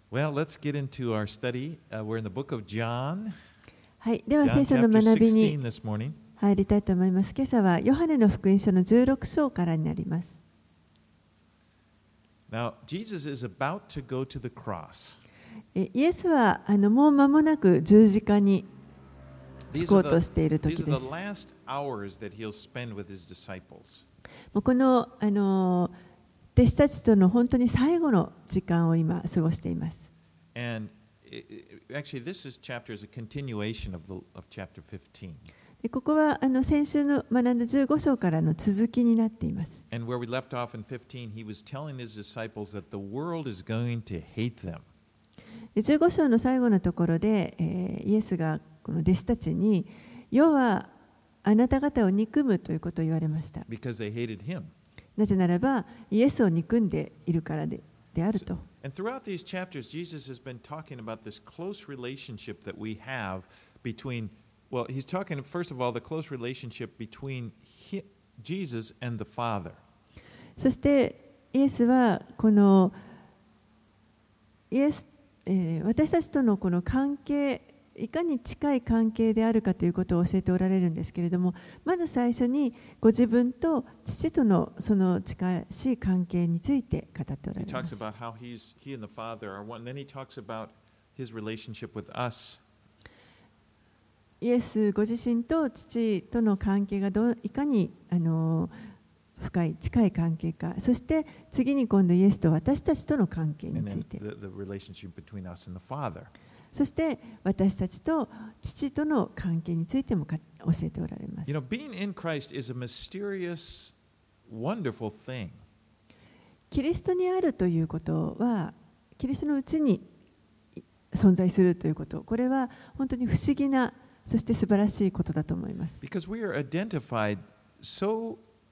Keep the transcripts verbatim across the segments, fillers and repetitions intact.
Well, let's get into our study. Uh, we're in the book of John. はい、では John 聖書の chapter 学び sixteen に this morning. 入りたいと思います。今朝はヨハネの福音書のじゅうろく章からになります。 Now, Jesus is about to go to the cross. えイエスはあのもう間もなく十字架につ These こ are うと the, している these 時 are で the す。 last hours that he'll spend with his disciples. もうこの、あの弟子たちとの本当に最後の時間を今過ごしています。 And it, it, actually, this is chapter is a continuation of, the, of chapter fifteen. でここはあの先週の学んだじゅうご章からの続きになっています。 And where we left off in fifteen, he was telling his disciples that the world is going to hate them. でじゅうご章の最後のところで、えーイエスがこの弟子たちに世はあなた方を憎むということを言われました。 Because they hated him. なぜならばイエスを憎んでいるからで、であると。 And throughout these chapters, Jesus has been talking about this close relationship that we have between, well, he's talking, first of all, the close relationship between he, Jesus and the Father. そしてイエスはこのイエス、えー私たちとのこの関係、いかに近い関係であるかということを教えておられるんですけれども、まず最初にご自分と父とのその近しい関係について語っておら He れま talks す。 about how he's, he and the Father are one. Then he talks about his relationship with us. イエスご自身と父との関係がどういかにあの深い近い関係か、そして次に今度イエスと私たちとの関係に And つ then いて、 the, the relationship between us and the Father. そして私たちと父との関係についてもか教えておられます。 You know, being in Christ is a mysterious, wonderful thing. キリストにあるということは、キリストのうちに存在するということ、これは本当に不思議な、そして素晴らしいことだと思います。 Because we are identified so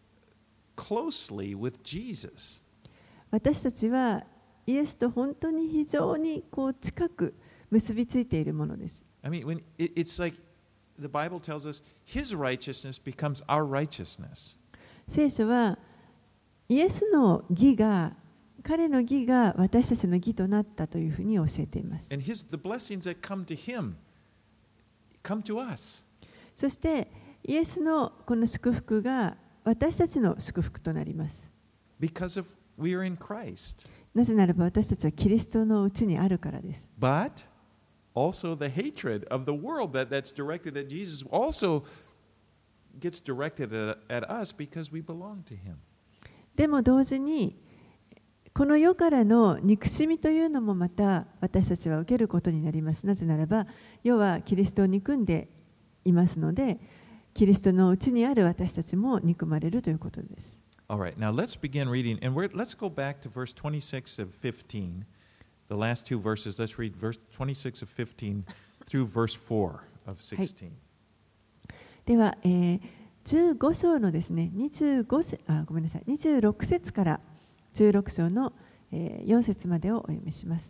closely with Jesus. 私たちはイエスと本当に非常にこう近く結びついているものです。 I mean, when it, it's like the Bible tells us his righteousness becomes our righteousness. 聖書はイエスの義が、彼の義が私たちの義となったというふうに教えています。 And his, the blessings that come to him come to us. そしてイエスのこの祝福が私たちの祝福となります。 Because of we are in Christ. なぜならば私たちはキリストのうちにあるからです。 But also the hatred of the world that, that's directed at Jesus also gets directed at, at us because we belong to him. でも同時にこの世からの憎しみというのもまた私たちは受けることになります。なぜならば世はキリストを憎んでいますので、キリストのうちにある私たちも憎まれるということです。 All right, now let's begin reading, and we're, let's go back to verse twenty-six of fifteen. The last two verses. Let's read verse twenty-six of fifteen through verse four of sixteen. では、えー、じゅうご章のですね、にじゅうご節、あ、ごめんなさい、にじゅうろく節からじゅうろく章の、えー、よん節までをお読みします。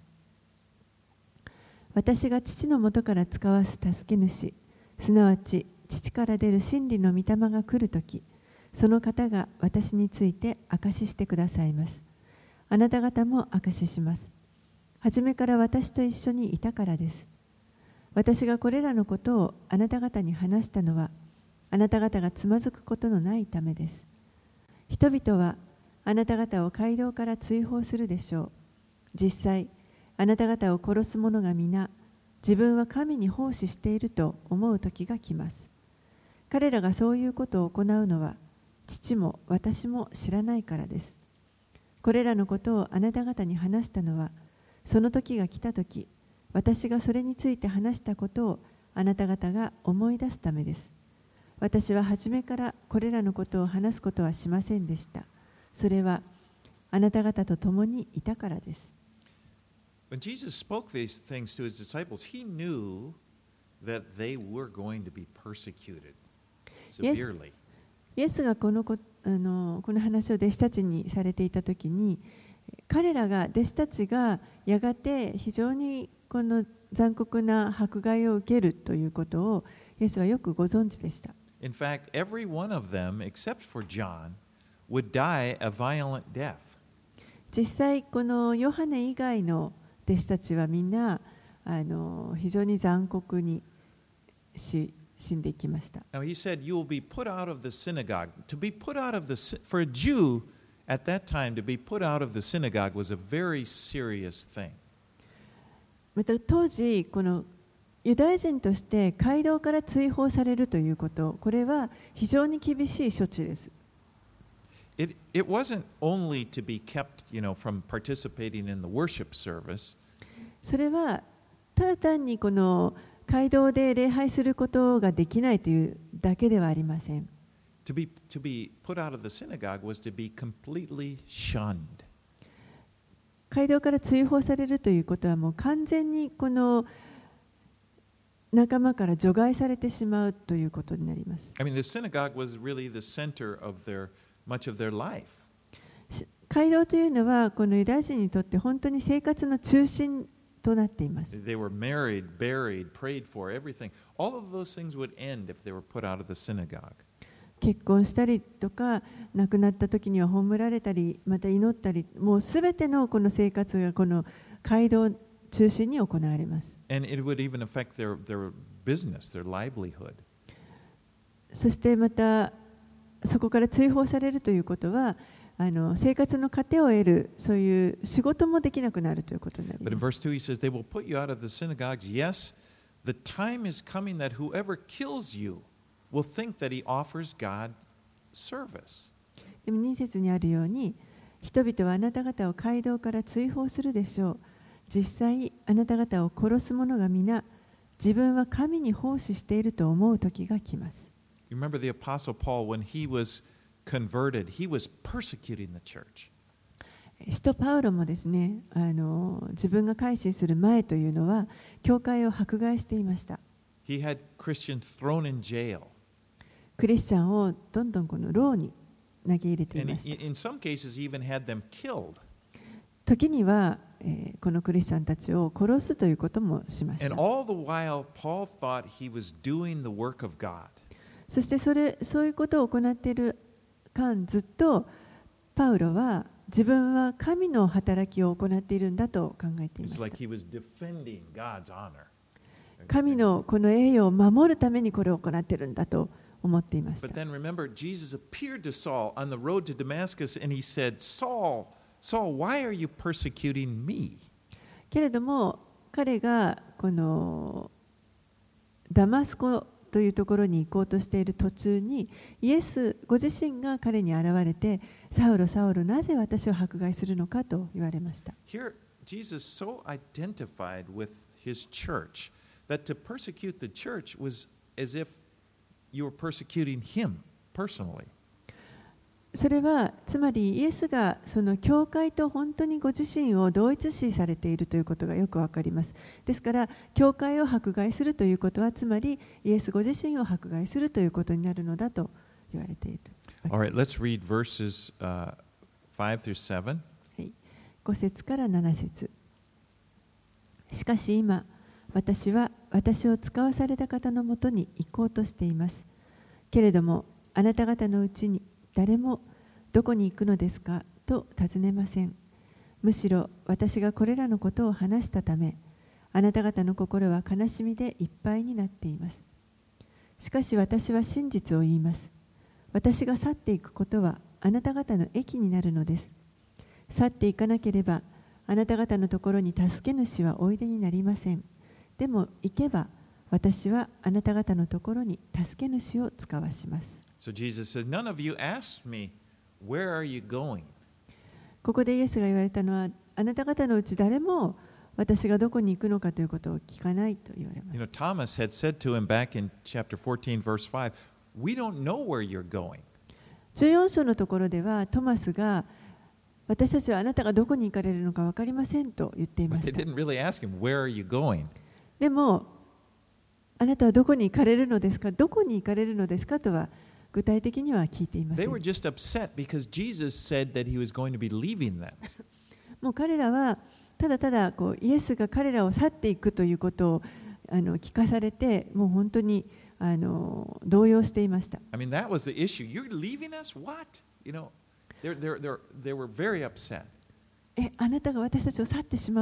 私が父のもとから使わす助け主、すなわち父から出る真理の御霊が来るとき、その方が私について証ししてくださいます。あなた方も証しします。はじめから私と一緒にいたからです。私がこれらのことをあなた方に話したのは、あなた方がつまずくことのないためです。人々はあなた方を街道から追放するでしょう。実際、あなた方を殺す者が皆、自分は神に奉仕していると思う時が来ます。彼らがそういうことを行うのは、父も私も知らないからです。これらのことをあなた方に話したのは、その時が来た時、私がそれについて話したことをあなた方が思い出すためです。私は初めからこれらのことを話すことはしませんでした。それはあなた方と共にいたからです。 When Jesus spoke these things to his disciples, he knew that they were going to be persecuted severely. イエスがこのこ、あの、この話を弟子たちにされていたときに、彼らが、弟子たちがやがて非常にこの残酷な迫害を受けるということをイエスはよくご存知でした。 In fact, every one of them, except for John, would die a violent death. 実際、このヨハネ以外の弟子たちはみんなあの非常に残酷にし死んでいきました。 Now he said, "You will be put out of the synagogue." To be put out of the sy- for a Jew at that time to be put out of the synagogue was a very serious thing. また当時このユダヤ人として街道から追放されるということ、これは非常に厳しい処置です。 It it wasn't only to be kept, you know, from participating in the worship service. それはただ単にこの街道で礼拝することができないというだけではありません。 To be to be put out of the synagogue was to be completely shunned. 街道から追放されるということはもう完全にこの仲間から除外されてしまうということになります。 I mean, the synagogue was really the center of their much of their life. 街道というのはこのユダヤ人にとって本当に生活の中心となっています。 They were married, buried, prayed for, everything. All of those things would end if they were put out of the synagogue. 結婚したりとか亡くなった時には葬られたりまた祈ったり、もうすべてのこの生活がこの街道中心に行われます。 And it would even affect their, their business, their livelihood. そしてまたそこから追放されるということはあの生活の糧を得るそういう仕事もできなくなるということになり But in ます。 verse two, he says, They will put you out of the synagogues. Yes, the time is coming that whoever kills you will think that he offers God service. でもに節にあるように、人々はあなた方を街道から追放するでしょう。実際あなた方を殺す者が皆自分は神に奉仕していると思う時が来ます。 You remember the Apostle Paul, when he was converted, he was persecuting the church. 使徒パウロもですね、あの自分が改心する前というのは教会を迫害していました。 He had Christians thrown in jail. クリスチャンをどんどんこの牢に投げ入れてい And ました。 in some cases, he even had them killed. 時には、えーこのクリスチャンたちを殺すということもしまし And た。 all the while, Paul thought he was doing the work of God. そしてそれそういうことを行っている間、ずっとパウロは自分は神の働きを行っているんだと考えていま It's した。 like he was defending God's honor. 神のこの栄誉を守るためにこれを行っているんだと思っていました。 But then remember, Jesus appeared to Saul on the road to Damascus and he said, Saul, Saul, why are you persecuting me? けれども彼がこのダマスコというところに行こうとしている途中にイエスご自身が彼に現れて、サウロサウロなぜ私を迫害するのかと言われました。 Here, Jesus so identified with his church that to persecute the church was as if you were persecuting him personally. それはつまりイエスがその教会と本当にご自身を同一視されているということがよくわかります。ですから教会を迫害するということはつまりイエスご自身を迫害するということになるのだと言われている。 All right, let's read verses uh, five through seven. はい、ご節からなな節。しかし今私は私を使わされた方のもとに行こうとしています。けれどもあなた方のうちに誰もどこに行くのですかと尋ねません。むしろ私がこれらのことを話したため、あなた方の心は悲しみでいっぱいになっています。しかし私は真実を言います。私が去っていくことはあなた方の益になるのです。去っていかなければあなた方のところに助け主はおいでになりません。でも行けば私はあなた方のところに助け主を使わします。 So Jesus says, None of you asked me, Where are you going? ここでイエスが言われたのは、あなた方のうち誰も私がどこに行くのかということを聞かないと言われま You す。 know, Thomas had said to him back in chapter fourteen, verse five, We don't know where you're going. じゅうよん章のところではトマスが私たちはあなたがどこに行かれるのか分かりませんと言っていま But し they た。 didn't really ask him, Where are you going? でもあなたはどこに行かれるのですか、どこに行かれるのですかとは具体的には聞いていませ They ん。 were just upset because Jesus said that he was going to be leaving them. もう彼らはただただこうイエスが彼らを去っていくということをあの聞かされて、もう本当にあの動揺していました。 I mean, that was the issue. You're leaving us? What? You know, they're, they're, they're, they were very upset. え、あなたが私たちを去ってしま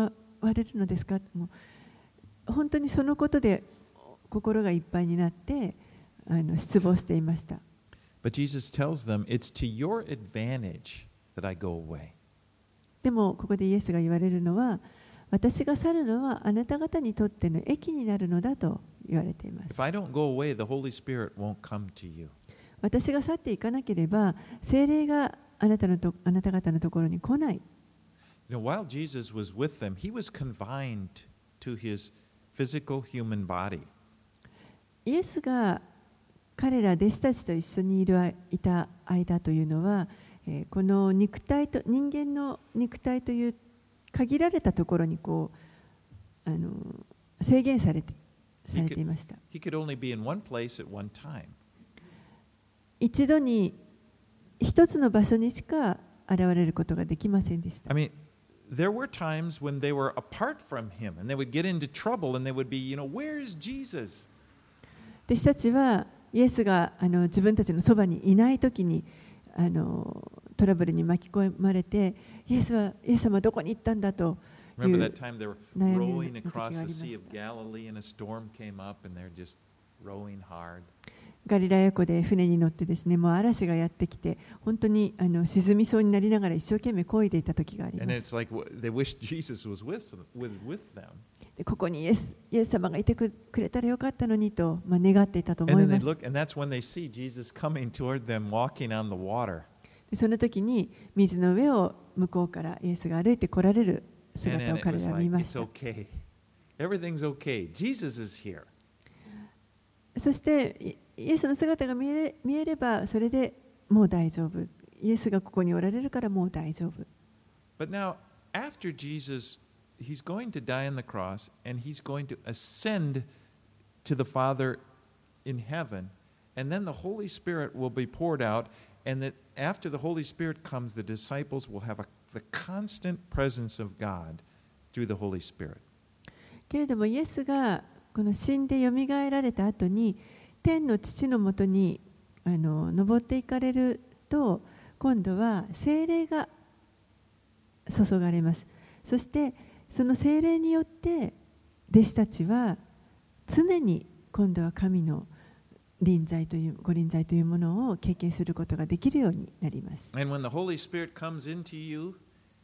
われるのですか？もう本当にそのことで心がいっぱいになってあの失望していました。 But Jesus tells them, it's to your advantage that I go away. でもここでイエスが言われるのは、私が去るのはあなた方にとっての益になるのだと言われています。 If I don't go away, the Holy Spirit won't come to you. 私が去っていかなければ、聖霊があなたのとあなた方のところに来ない。 You know, while Jesus was with them, he was confined to his physical human body. イエスが彼ら弟子たちと一緒にいるいた間というのは、えー、この肉体と人間の肉体という限られたところにこうあの制限されてされていました。 He could only be in one place at one time. 一度に一つの場所にしか現れることができませんでした。 I mean, there were times when they were apart from him and they would get into trouble and they would be, you know, where is Jesus? 弟子たちはイエスがあの自分たちのそばにいないときにあのトラブルに巻き込まれて、イエスはイエス様はどこに行ったんだという Remember that time they were rowing across the Sea of Galilee and a storm came up and they're just rowing hard. ガリラヤ湖で船に乗ってですね、もう嵐がやってきて、本当にあの沈みそうになりながら一生懸命漕いでいた時があります。 And it's like they wished Jesus was with with with them. でここにイエス、イエス様がいてくれたらよかったのにと、まあ、願っていたと思 And い then ま they す。 look, and that's when they see Jesus coming toward them, walking on the water. でその時に水の上を向こうからイエスが歩いて来られる And 姿 then を it 彼 was らは like, 見ま it's した。 okay. Everything's okay. Jesus is here. そしてイエスの姿が見えれ、見えればそれでもう大丈夫。イエスがここにおられるからもう大丈夫。 But now, after Jesus, he's going to die on the cross and he's going to ascend to the Father in heaven, and then the Holy Spirit will be poured out, and that after the Holy Spirit comes, the disciples will have a, the constant presence of God through the Holy Spirit. けれどもイエスがこの死んでよみがえられた後に天の父のもとにあの登っていかれると、今度は聖霊が注がれます。そしてその聖霊によって弟子たちは常に今度は神の臨在というご臨在というものを経験することができるようになります。 And when the Holy Spirit comes into you,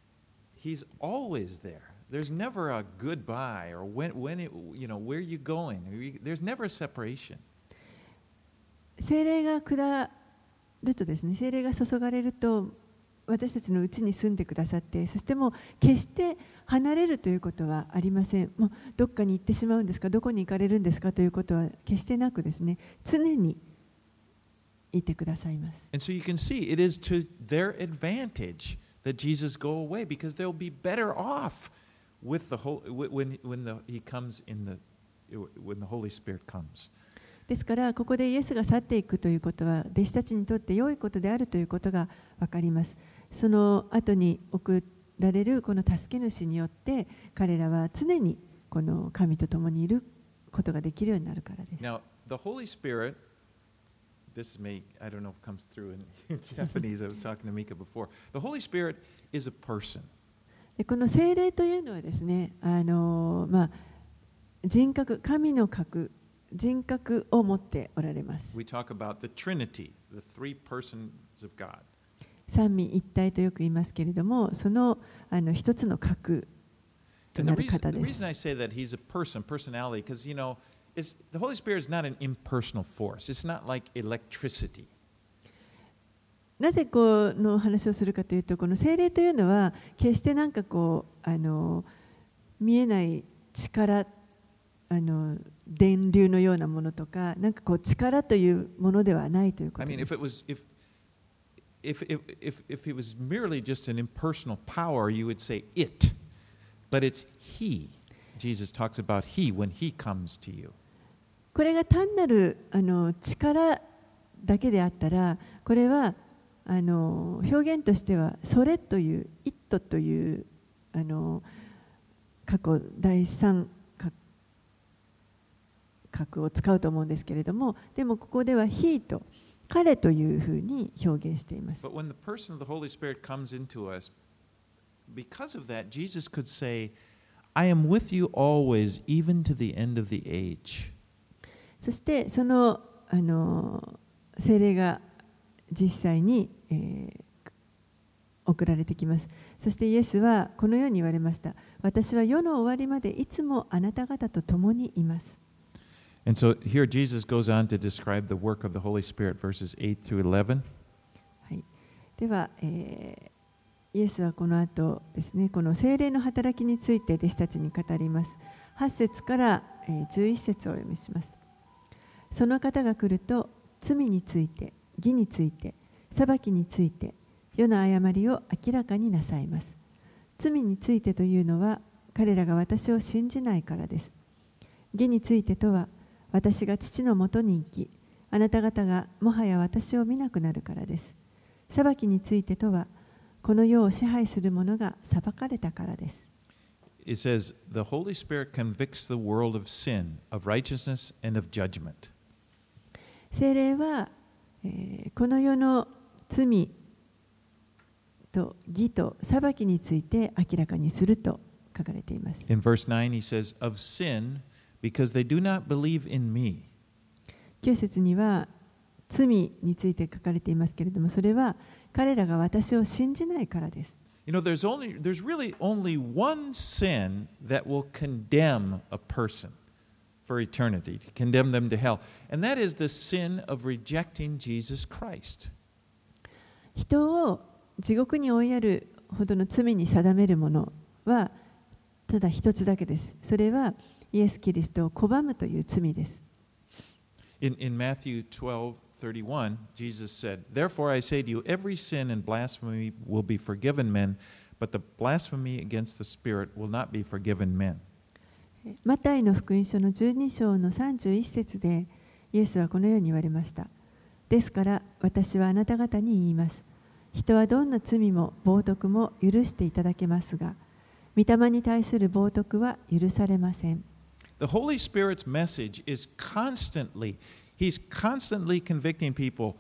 he's always there. There's never a goodbye or when, when it, you know, where are you going? There's never a separation. 聖霊が下るとですね、聖霊が注がれると私たちのうちに住んでくださって、そしてもう決して離れるということはありません。もうどっかに行ってしまうんですか、どこに行かれるんですかということは決してなくですね、常にいてくださいます。 And so you can see it is to their advantage that Jesus go away because they'll be better off with the whole when when the he comes in the when the Holy Spirit comes. ですからここでイエスが去っていくということは弟子たちにとって良いことであるということが分かります。その後に送られるこの助け主によって彼らは常にこの神と共にいることができるようになるからです。 Now, the Holy Spirit, this may, I don't know if it comes through in Japanese, I was talking to Mika before. The Holy Spirit is a person. でこの聖霊というのはですね、あのまあ、人格、神の格、人格を持っておられます。 We talk about the Trinity, the three persons of God. 三位一体とよく言いますけれども、そのあの一つの格と And な the る reason, 方 the です。 reason I say that he's a person, personality, because, you know, it's, the Holy Spirit is not an impersonal force. It's not like electricity. なぜこの話をするかというと、この聖霊というのは決してなんかこうあの見えない力、あの電流のようなものとか、なんかこう力というものではないというこ I と mean, で if す。 it was, if, if, if, if, if it was merely just an impersonal power, you would say it. But it's He. Jesus talks about He when He comes to you. これが単なるあの力だけであったら、これはあの表現としてはそれという「イット」というあの過去第三角を使うと思うんですけれども、でもここでは「he」と「彼」というふうに表現しています。 But when the person of the Holy Spirit comes into us, because of that, Jesus could say, I am with you always, even to the end of the age. そしてその、あの聖霊が実際に、えー、送られてきます。そしてイエスはこのように言われました。私は世の終わりまでいつもあなた方と共にいます。 And so here Jesus goes on to describe the work of the Holy Spirit, verses eight through eleven. はい、では、えー、イエスはこの後ですね、この聖霊の働きについて弟子たちに語ります。はち節から、えー、じゅういち節をお読みします。その方が来ると、罪について、義について、裁きについて、世の誤りを明らかになさいます。罪についてというのは、彼らが私を信じないからです。義についてとは、私が父のもとに行き、あなた方がもはや私を見なくなるからです。裁きについてとは、この世を支配する者が裁かれたからです。 It says, the Holy Spirit convicts the world of sin, of righteousness, and of judgment. 聖霊は、えー、この世の罪と義と裁きについて明らかにすると書かれています。 In verse nine, he says, of sin, because they do not believe in me. きゅう節には罪について書かれていますけれども、それは彼らが私を信じないからです。 You know, there's only, there's really only one sin that will condemn a person for eternity, to condemn them to hell, and that is the sin of rejecting Jesus Christ. 人を地獄に追いやるほどの罪に定めるものはただ一つだけです。それはイエス・キリストを拒むという罪です。 In, in Matthew twelve thirty-one, Jesus said, Therefore I say to you, every sin and blasphemy will be forgiven men, but the blasphemy against the Spirit will not be forgiven men. マタイの福音書のじゅうに章のさんじゅういち節でイエスはこのように言われました。ですから私はあなた方に言います。人はどんな罪も冒涜も許していただけますが、御霊に対する冒涜は許されません。 The Holy Spirit's message is constantly, He's constantly convicting people,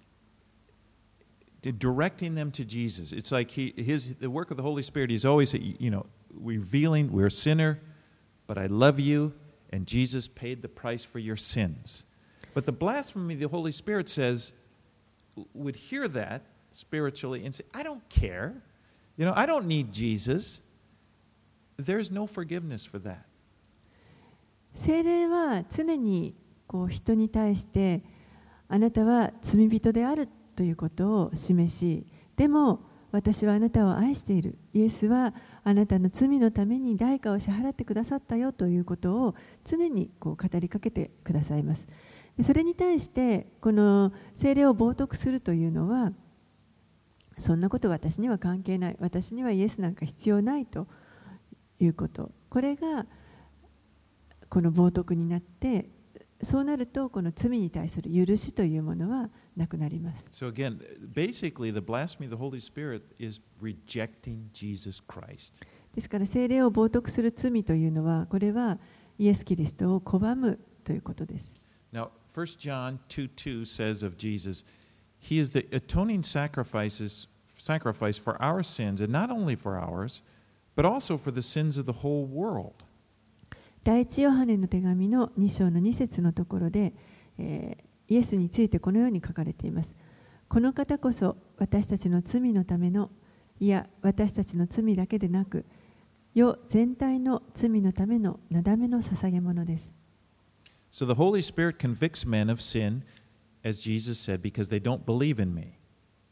directing them to Jesus. It's like he, his, the work of the Holy Spirit is always, you know, revealing we're a sinner, but I love you, and Jesus paid the price for your sins. But the blasphemy, the Holy Spirit says, would hear that spiritually and say, I don't care. You know, I don't need Jesus. There's no forgiveness for that. 聖霊は常にこう人に対してあなたは罪人であるということを示し、でも私はあなたを愛している。イエスはあなたの罪のために代価を支払ってくださったよということを常にこう語りかけてくださいます。それに対してこの聖霊を冒涜するというのは、そんなことは私には関係ない。私にはイエスなんか必要ないということ。これがこの冒涜になって、そうなるとこの罪に対する許しというものはなくなります。 So again, basically the blasphemy of the Holy Spirit is rejecting Jesus Christ. ですから聖霊を冒涜する罪というのは、これはイエス・キリストを拒むということです。 Now, First John two two says of Jesus, He is the atoning sacrifices, sacrifice for our sins, and not only for ours, but also for the sins of the whole world. 第一ヨハネの手紙のに章のに節のところで、えー、イエスについてこのように書かれています。この方こそ私たちの罪のための、いや私たちの罪だけでなく、世全体の罪のためのなだめの捧げ物です。 So the Holy Spirit convicts men of sin, as Jesus said, because they don't believe in me.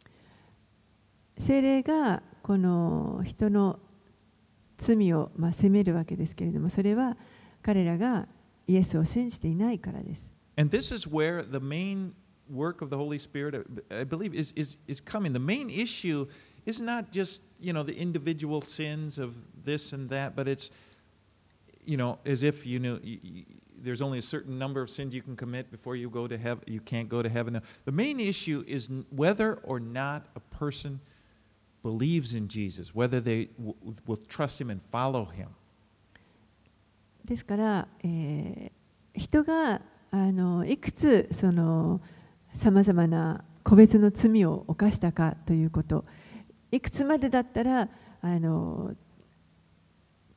聖霊がこの人の罪をまあ責めるわけですけれども、それは彼らがイエスを信じていないからです。 And this is where the main work of the Holy Spirit, I believe, is, is, is coming. The main issue is not just, you know, the individual sins of this and that, but it's, you know, as if, you know, you, you, there's only a certain number of sins you can commit before you go to heaven. You can't go to heaven. The main issue is whether or not a person believes in Jesus, whether they w- will trust Him and follow Him. ですから、えー、人があのいくつそのさまざまな個別の罪を犯したかということ、いくつまでだったらあの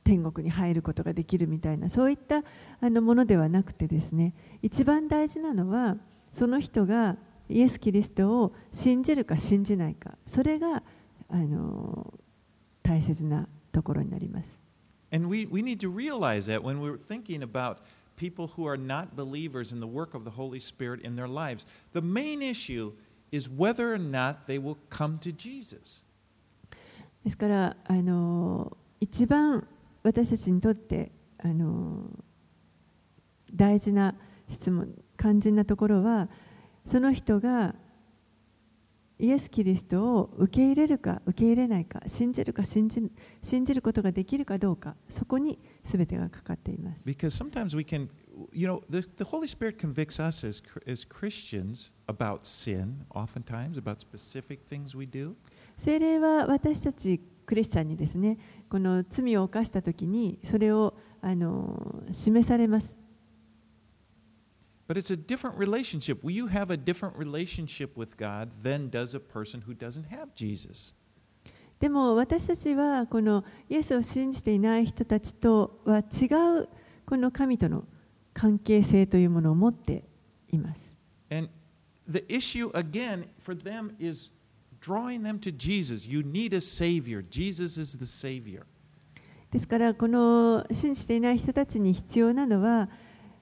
天国に入ることができるみたいな、そういったあのものではなくてですね、一番大事なのはその人がイエス・キリストを信じるか信じないか、それがあの大切なところになります。 And we, we need to realize that when we're thinking about people who are not believers in the work of the Holy Spirit in their lives, the main issue is whether or not they will come to Jesus. ですからあの一番私たちにとってあの大事な質問、肝心なところは、その人がイエス・キリストを受け入れるか受け入れないか、信じるか信じ、信じることができるかどうか、そこに全てがかかっています。 Because sometimes we can, you know, the, the Holy Spirit convicts us as, as Christians about sin, oftentimes, about specific things we do. 聖霊は私たちクリスチャンにですね、この罪を犯したときにそれをあの示されます。 But it's a different relationship. You have a different relationship with God than does a person who doesn't have Jesus. でも私たちはこのイエスを信じていない人たちとは違うこの神との関係性というものを持っています。 And the issue again for them is drawing them to Jesus. You need a Savior. Jesus is the Savior. ですからこの信じていない人たちに必要なのは、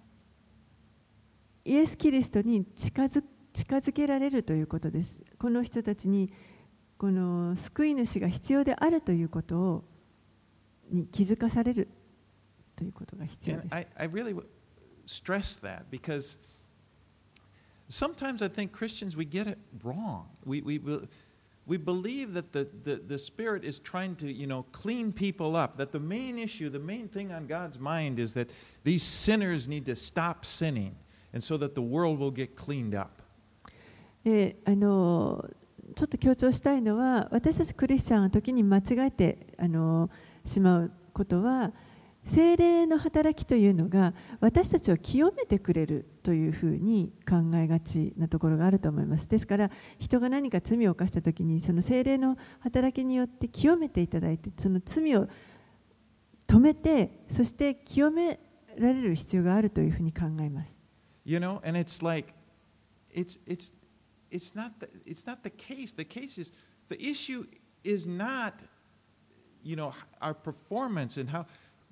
イエス・キリストに近づ、近づけられるということです。この人たちにこの救い主が必要であるということをに気づかされるということが必要です。 And I, I really stress that because sometimes I think Christians, we get it wrong. We, we, we believe that the, the, the Spirit is trying to, you know, clean people up, that the main issue, the main thing on God's mind is that these sinners need to stop sinning.And so that the world will get cleaned up. えあのちょっと強調したいのは、私たちクリスチャンの時に間違えてあのしまうことは、聖霊の働きというのが私たちを清めてくれるというふうに考えがちなところがあると思います。ですから人が何か罪を犯した時にその聖霊の働きによって清めていただいて、その罪を止めて、そして清められる必要があるというふうに考えます。 You know, and it's like, it's it's it's not the, it's not the case. The case is the issue is not, you know, our performance and how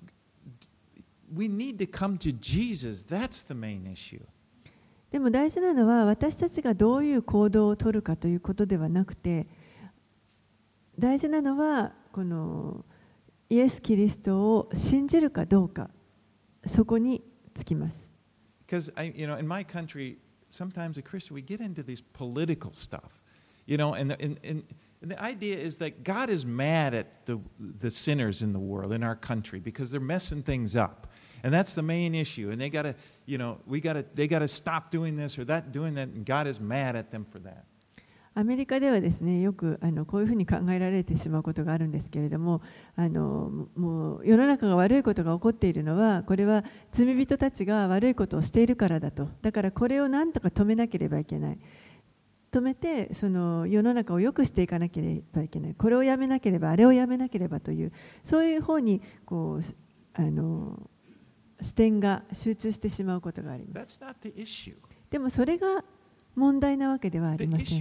we need to come to Jesus. That's the main issue. でも大事なのは私たちがどういう行動を取るかということではなくて、大事なのはこのイエス・キリストを信じるかどうか、そこにつきます。 Because I, you know, in my country, sometimes a Christian we get into this political stuff, you know, and the, and, and the idea is that God is mad at the the sinners in the world, in our country, because they're messing things up, and that's the main issue. And they got to, you know, we got to, they got to stop doing this or that, doing that, and God is mad at them for that. アメリカではですね、よくあのこういうふうに考えられてしまうことがあるんですけれども、あのもう世の中が悪いことが起こっているのは、これは罪人たちが悪いことをしているからだと。だからこれを何とか止めなければいけない。止めてその世の中を良くしていかなければいけない。これをやめなければあれをやめなければという、そういう方にこうあの視点が集中してしまうことがあります。でもそれが問題なわけではありません。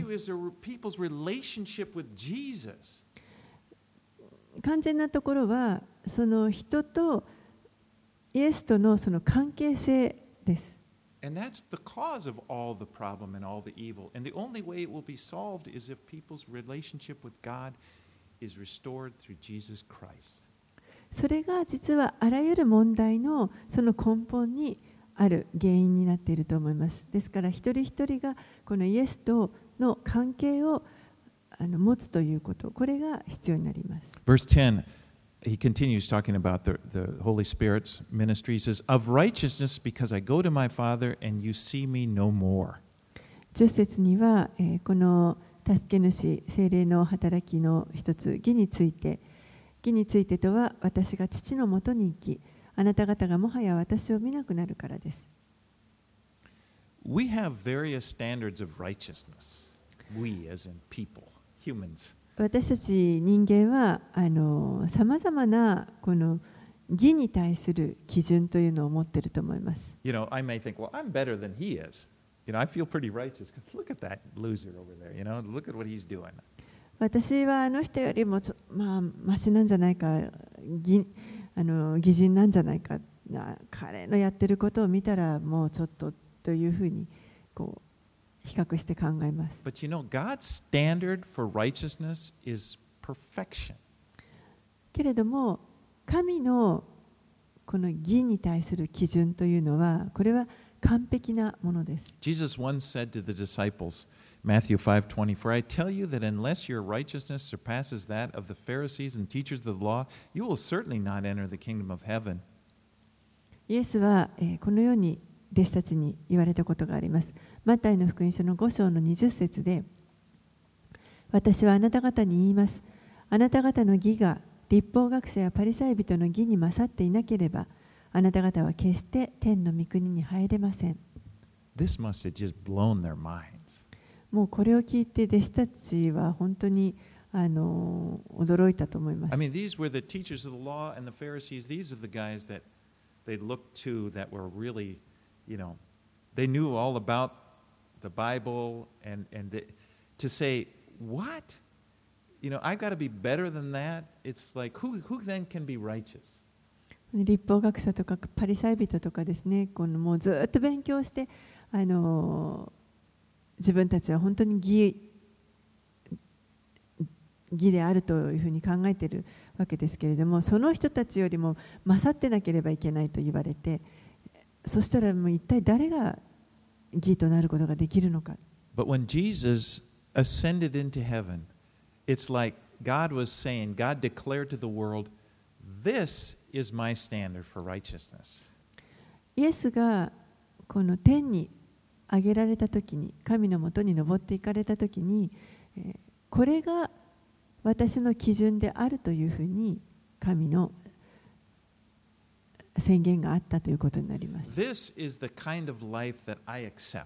肝心なところはその人とイエスとのその関係性です。 And that's the cause of all the problem and all the evil. And the only way it will be solved is if people's relationship with God is restored through Jesus Christ. それが実はあらゆる問題のその根本にある原因になっていると思います。ですから一人一人がこのイエスとの関係をあの持つということ、これが必要になります。 Verse ten, he continues talking about the, the Holy Spirit's ministry. He says, Of righteousness, because I go to my Father and you see me no more. じゅっ節には、えー、この助け主、聖霊の働きの一つ、義について、義についてとは、私が父のもとに行き、あなた方がもはや私を見なくなるからです。 We have various standards of righteousness. We, as in people, humans. 私たち人間はあのさまざまなこの義に対する基準というのを持っていると思います。 You know, I may think, well, I'm better than he is. You know, I feel pretty righteous because look at that loser over there. You know, look at what he's doing. 私はあの人よりもちょ、まあ、マシなんじゃないか、義あの義人なんじゃないか、彼のやってることを見たらもうちょっとというふうにこう比較して考えます。 But you know, God's standard for righteousness is perfection. けれども、神のこの義に対する基準というのは、これは完璧なものです。 Jesus once said to the disciples, Matthew five twenty, For I tell you that unless your righteousness surpasses that of the Pharisees and teachers of the law, you will certainly not enter the kingdom of heaven. イエスは、えー、このように弟子たちに言われたことがあります。マタイの福音書のご章のにじゅっ節で、私はあなた方に言います。あなた方の義が律法学者やパリサイ人の義に勝っていなければ、あなた方は決して天の御国に入れません。 This must have just blown their minds. もうこれを聞いて弟子たちは本当にあの驚いたと思います。 I mean, these were the teachers of the law and the Pharisees. These are the guys that they looked to that were really, you know, they knew all about the Bible and, and they, to say, what? You know, I've got to be better than that. It's like, who, who then can be righteous? 律法学者とかパリサイ人とかですね、このもうずっと勉強してあの自分たちは本当に義義であるというふうに考えているわけですけれども、その人たちよりも勝ってなければいけないと言われて、そしたらもう一体誰が義となることができるのか。 But when Jesus ascended into heaven, it's like God was saying, God declared to the world, this is my standard for righteousness. イエスがこの天に上げられたときに、神のもとに登っていかれたときに、これが私の基準であるというふうに神の宣言があったということになります。 This is the kind of life that I accept.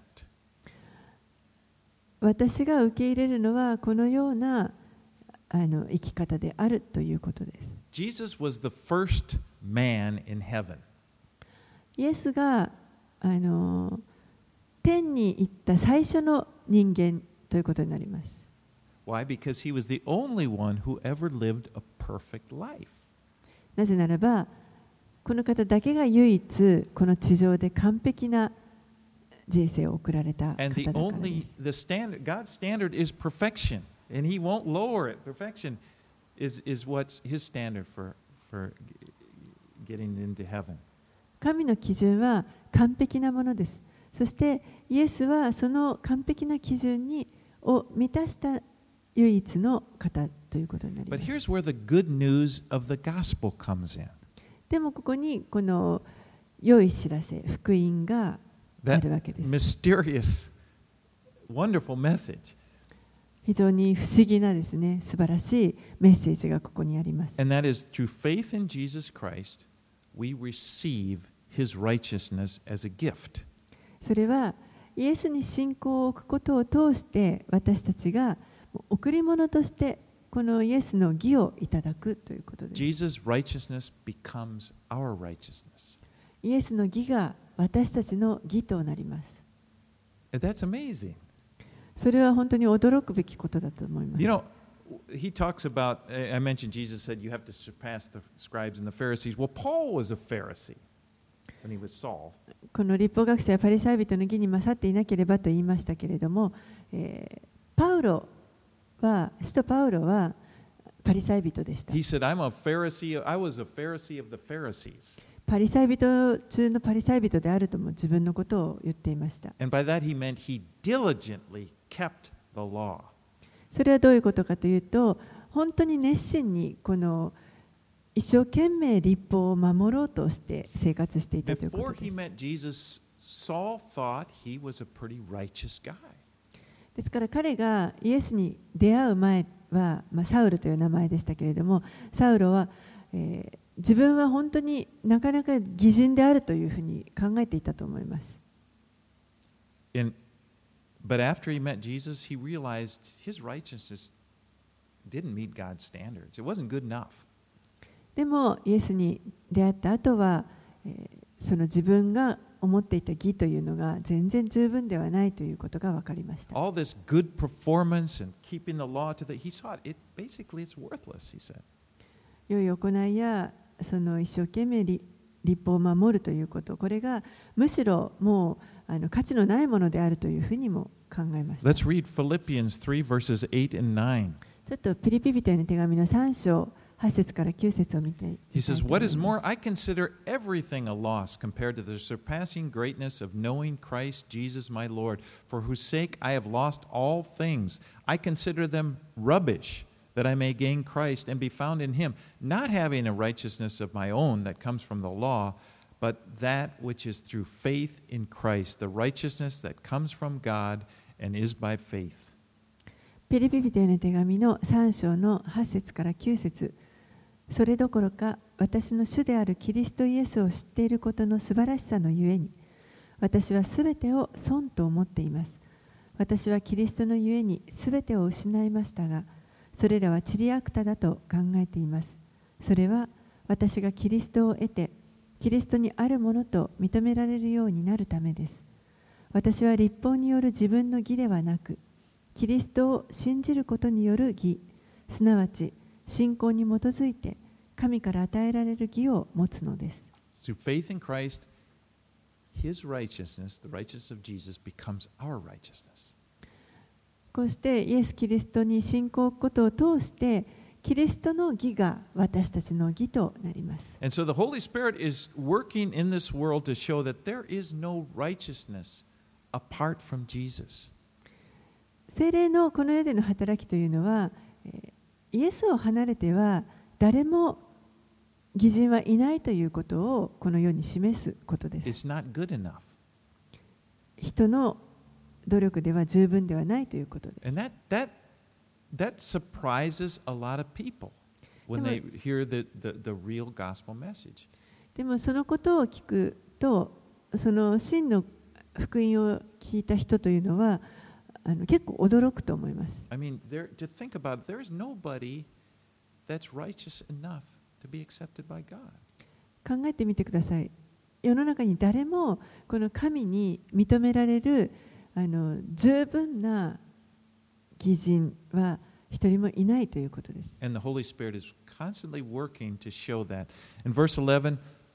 私が受け入れるのはこのようなあの生き方であるということです。 Jesus was the first man in heaven. イエスがあの天に行った最初の人間ということになります。 Why? Because he was the only one who ever lived a perfect life. なぜならば、この方だけが唯一この地上で完璧な人生を送られた方だから And で the す。 only the standard, God's standard is perfection, and He won't lower it. Perfection is is what's His standard for for getting into heaven. 神の基準は完璧なものです。そしてイエスはその完璧な基準にを満たした唯一の方ということになりま But す。 here's where the good news of the gospel comes in. でもここにこの良い知らせ、福音があるわけです。 Mysterious, wonderful message. 非常に不思議なですね、素晴らしいメッセージがここにあります。 And that is through faith in Jesus Christ, we receive His righteousness as a gift. それはイエスに信仰を置くことを通して私たちが贈り物としてこのイエスの義をいただくということです。 Jesus' righteousness becomes our righteousness. イエスの義が私たちの義となります。 And that's amazing. それは本当に驚くべきことだと思います。 You know, he talks about, I mentioned Jesus said you have to surpass the scribes and the Pharisees. Well, Paul was a Pharisee when he was Saul. この律法学者やパリサイ人の義に勝っていなければと言いましたけれども、えー、パウロは、使徒パウロはパリサイ人でした。 He said, I'm a Pharisee, I was a Pharisee of the Pharisees. パリサイ人中のパリサイ人であるとも自分のことを言っていました。 And by that he meant he diligently kept the law. それはどういうことかというと、本当に熱心にこの一生懸命律法を守ろうとして生活していたというこ Before とで he す。 met Jesus, Saul thought he was a pretty righteous guy. ですから彼がイエスに出会う前は、まあ、サウルという名前でしたけれども、サウロは、えー、自分は本当になかなか義人であるというふうに考えていたと思います。 And, but after he met Jesus, he realized his righteousness didn't meet God's standards. It wasn't good enough. でもイエスに出会った後は、えーその自分が思っていた義というのが全然十分ではないということが分かりました。 All this good performance and keeping the law to the, he saw it, it basically it's worthless, he said. 良い行いやその一生懸命立法を守るということ、これがむしろもうあの価値のないものであるというふうにも考えました。 Let's read Philippians three verses eight and nine. ちょっとピリピ人への手紙のさん章はち節からきゅう節を見てみたいと He 思い says, ます。 What is more, I consider everything a loss compared to the surpassing greatness of knowing Christ Jesus my Lord, for whose sake I have lost all things. I consider them rubbish, that I may gain Christ and be found in him, not having a righteousness of my own that comes from the law, but that which is through faith in Christ, the righteousness that comes from God and is by faith. ピリピ人への手紙のさん章のはち節からきゅう節。それどころか私の主であるキリストイエスを知っていることの素晴らしさのゆえに、私はすべてを損と思っています。私はキリストのゆえにすべてを失いましたが、それらは塵あくただと考えています。それは私がキリストを得て、キリストにあるものと認められるようになるためです。私は律法による自分の義ではなく、キリストを信じることによる義、すなわち信仰に基づいて神から与えられる義を持つのです。 Through faith in Christ, his righteousness, the righteousness of Jesus, becomes our righteousness. こうしてイエス・キリストに信仰を置くことを通して、キリストの義が私たちの義となります。 And so the Holy Spirit is working in this world to show that there is no righteousness apart from Jesus. 聖霊のこの世での働きというのは、イエスを離れては誰も義人はいないということをこの世に示すことです。 It's not good enough. 人の努力では十分ではないということです。 And that, that, that surprises a lot of people when they hear the, the, the real gospel message. でもそのことを聞くと、その真の福音を聞いた人というのはあの結構驚くと思います。 I mean, there, to think about it, there is nobody that's righteous enough to be accepted by God. 考えてみてください。世の中に誰もこの神に認められるあの十分な義人は一人もいないということです。 And the Holy Spirit is constantly working to show that. In verse eleven,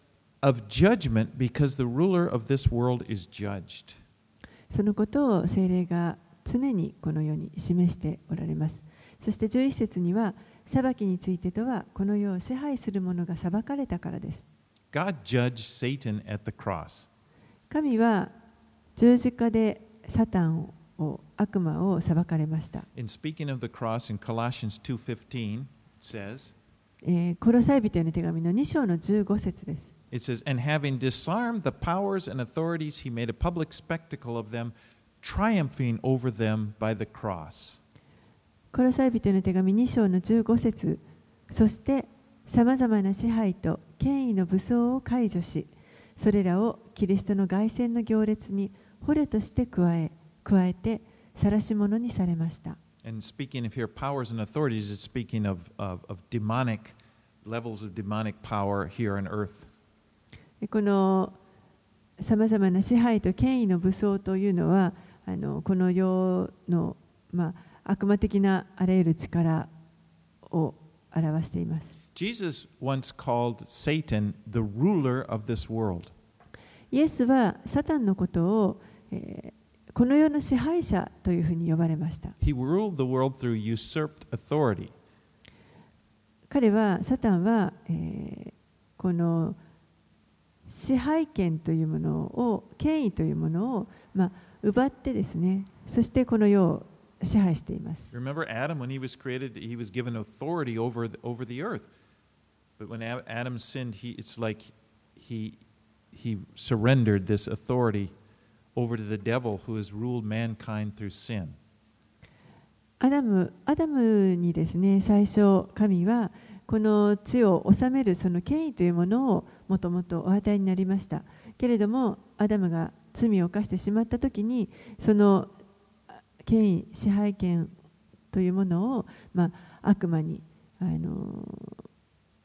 of judgment because the ruler of this world is judged. そのことを聖霊が常にこの世に示しておられます。そしてじゅういち節には、裁きについてとはこの世を支配する者が裁かれたからです。 God judged Satan at the cross. 神は十字架でサタンを、悪魔を裁かれました。 In speaking of the cross in Colossians two fifteen, it says, えー、コロサイ人への手紙のに章のじゅうご節です。 It says, and having disarmed the powers and authorities, he made a public spectacle of them, triumphing over them by the cross. コロサイ人への手紙に章のじゅうご節、そしてさまざまな支配と権威の武装を解除し、それらをキリストの凱旋の行列に捕虜として加え、加えて晒し者にされました。 And speaking of here powers and authorities, it's speaking of, of, of demonic levels of demonic power here on earth. このさまざまな支配と権威の武装というのは、あのこの世の、まあ、悪魔的なあらゆる力を表しています。 Jesus once called Satan the ruler of this world. イエスはサタンのことを、えー、この世の支配者というふうに呼ばれました。 He ruled the world through usurped authority. 彼は、サタンは、えー、この支配権というものを、権威というものを、まあ、奪ってですね、そしてこの世を支配しています。 Remember Adam, when he was created, he was given authority over the, over the earth. But when Adam sinned, he, it's like he, he surrendered this authority over to the devil who has ruled mankind through sin. アダム、アダムにですね、最初、神はこの地を治めるその権威というものをもともとお与えになりました。けれども、アダムが罪を犯してしまったときに、その権威、支配権というものを、まあ、悪魔にあの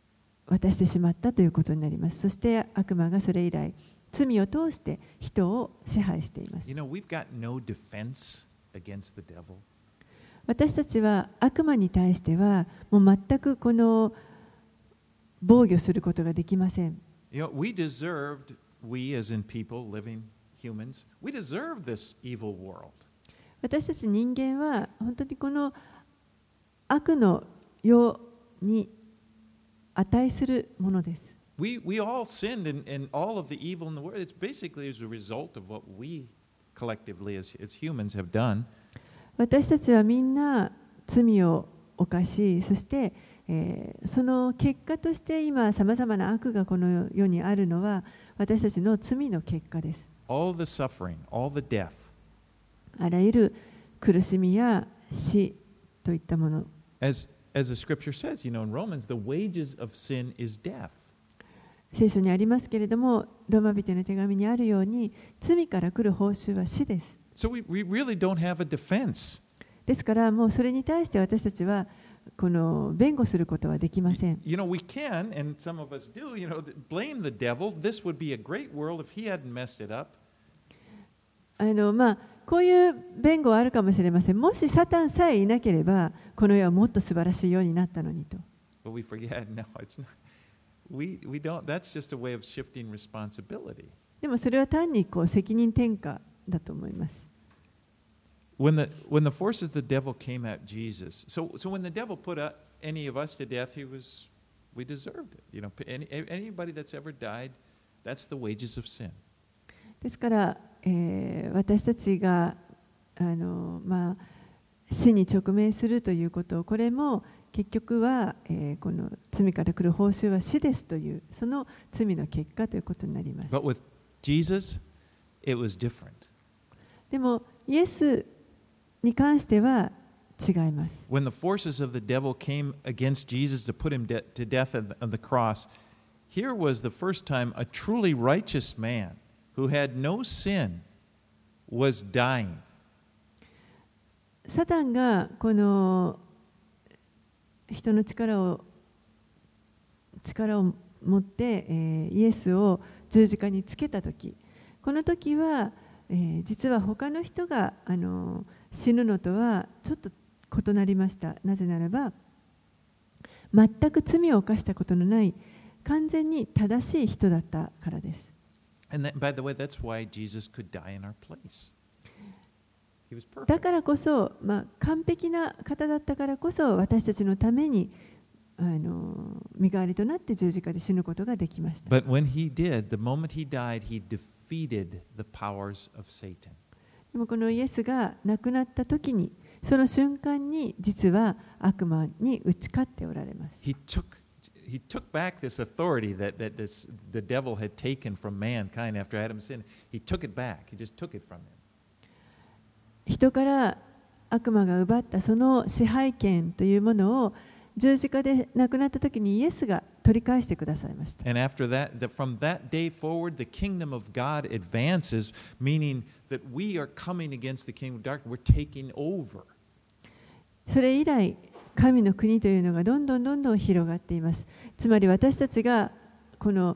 渡してしまったということになります。そして悪魔がそれ以来、罪を通して人を支配しています。 You know, we've got no defense against the devil. 私たちは悪魔に対してはもう全くこの防御することができません。 You know, we deserved, we as in people, living humans, we deserve this evil world. 私たち人間は本当にこの悪の世に値するものです。 We, we all sinned, and, and all of the evil in the world, it's basically as a result of what we collectively as, as humans have done. 私たちはみんな罪を犯し、そして、えー、その結果として今さまざまな悪がこの世にあるのは私たちの罪の結果です。 All the suffering, all the death. あらゆる苦しみや死といったもの。 As, as the scripture says, you know, in Romans, the wages of sin is death. 聖書にありますけれども、ローマ人の手紙にあるように、罪から来る報酬は死です。 So we, we really don't have a defense. ですから、もうそれに対して私たちはこの弁護することはできません。 You know, we can, and some of us do, you know, blame the devil. This would be a great world if he hadn't messed it up. あのまあ、こういう弁護はあるかもしれません。もしサタンさえいなければ、この世はもっと素晴らしいようになったのにと。 But we forget, no, it's not. We, we don't, that's just a way of shifting responsibility. でもそれは単にこう責任転嫁だと思います。 When the, when the forces of the devil came at Jesus, so, so when the devil put uh, any of us to death, he was, we deserved it. You know, any, anybody that's ever died, that's the wages of sin. ですから、えー、私たちがあの、まあ、死に直面するということ、これも結局は、えー、この罪から来る報酬は死ですという、その罪の結果ということになります。 But with Jesus, it was different. でも、イエスに関しては違います。 When the forces of the devil came against Jesus to put him de- to death on the, on the cross, here was the first time a truly righteous man who had no sin was dying. サタンがこの人の力を力を持って、えー、イエスを十字架につけたとき、この時は、えー、実は他の人があの死ぬのとはちょっと異なりました。なぜならば、全く罪を犯したことのない完全に正しい人だったからです。 And that, by the way, that's why Jesus could die in our place. He was perfect. だからこそ、まあ、完璧な方だったからこそ、私たちのためにあの身代わりとなって十字架で死ぬことができました。 But when he did, the moment he died, he defeated the powers of Satan. でもこのイエスが亡くなった時に、その瞬間に実は悪魔に打ち勝っておられます。 He took He took back this authority that, that this, the devil had taken from mankind after Adam sinned. He took it back. He just took it from him. 人から悪魔が奪ったその支配権というものを十字架で亡くなった時にイエスが取り返してくださいました。 And after that, the, from that day forward, the kingdom of God advances, meaning that we are coming against the kingdom of darkness. We're taking over. それ以来、神の国というのがどんどんどんどん広がっています。つまり私たちがこの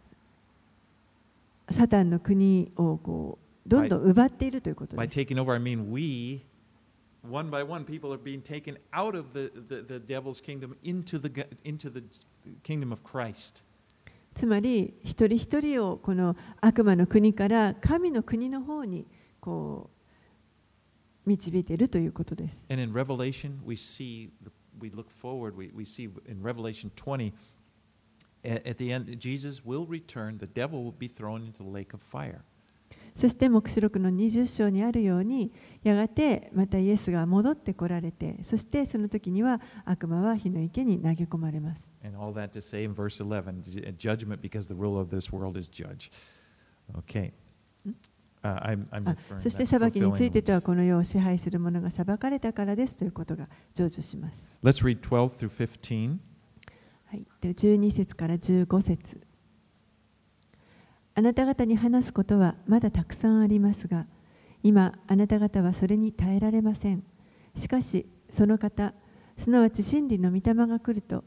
サタンの国をこうどんどん奪っているということです。 By taking over, I mean we, one by one, people are being taken out of the, the, the devil's kingdom into the, into the kingdom of Christ. つまり一人一人をこの悪魔の国から神の国の方にこう導いているということです。 And in Revelation, we see, we look forward, we, we see in Revelation twenty, at, at the end, Jesus will return, the devil will be thrown into the lake of fire. そして黙示録のにじゅっ章にあるように、やがてまたイエスが戻ってこられて、そしてその時には悪魔は火の池に投げ込まれます。 And all that to say in verse eleven, judgment because the ruler of this world is judge. Okay. Uh, I'm, I'm あ referring そして that's 裁きについて fulfilling. とはこの世を支配する者が裁かれたからですということが成就します。 Let's read twelve through fifteen. はい、でじゅうに節からじゅうご節。あなた方に話すことはまだたくさんありますが、今あなた方はそれに耐えられません。しかしその方、すなわち真理の御霊が来ると、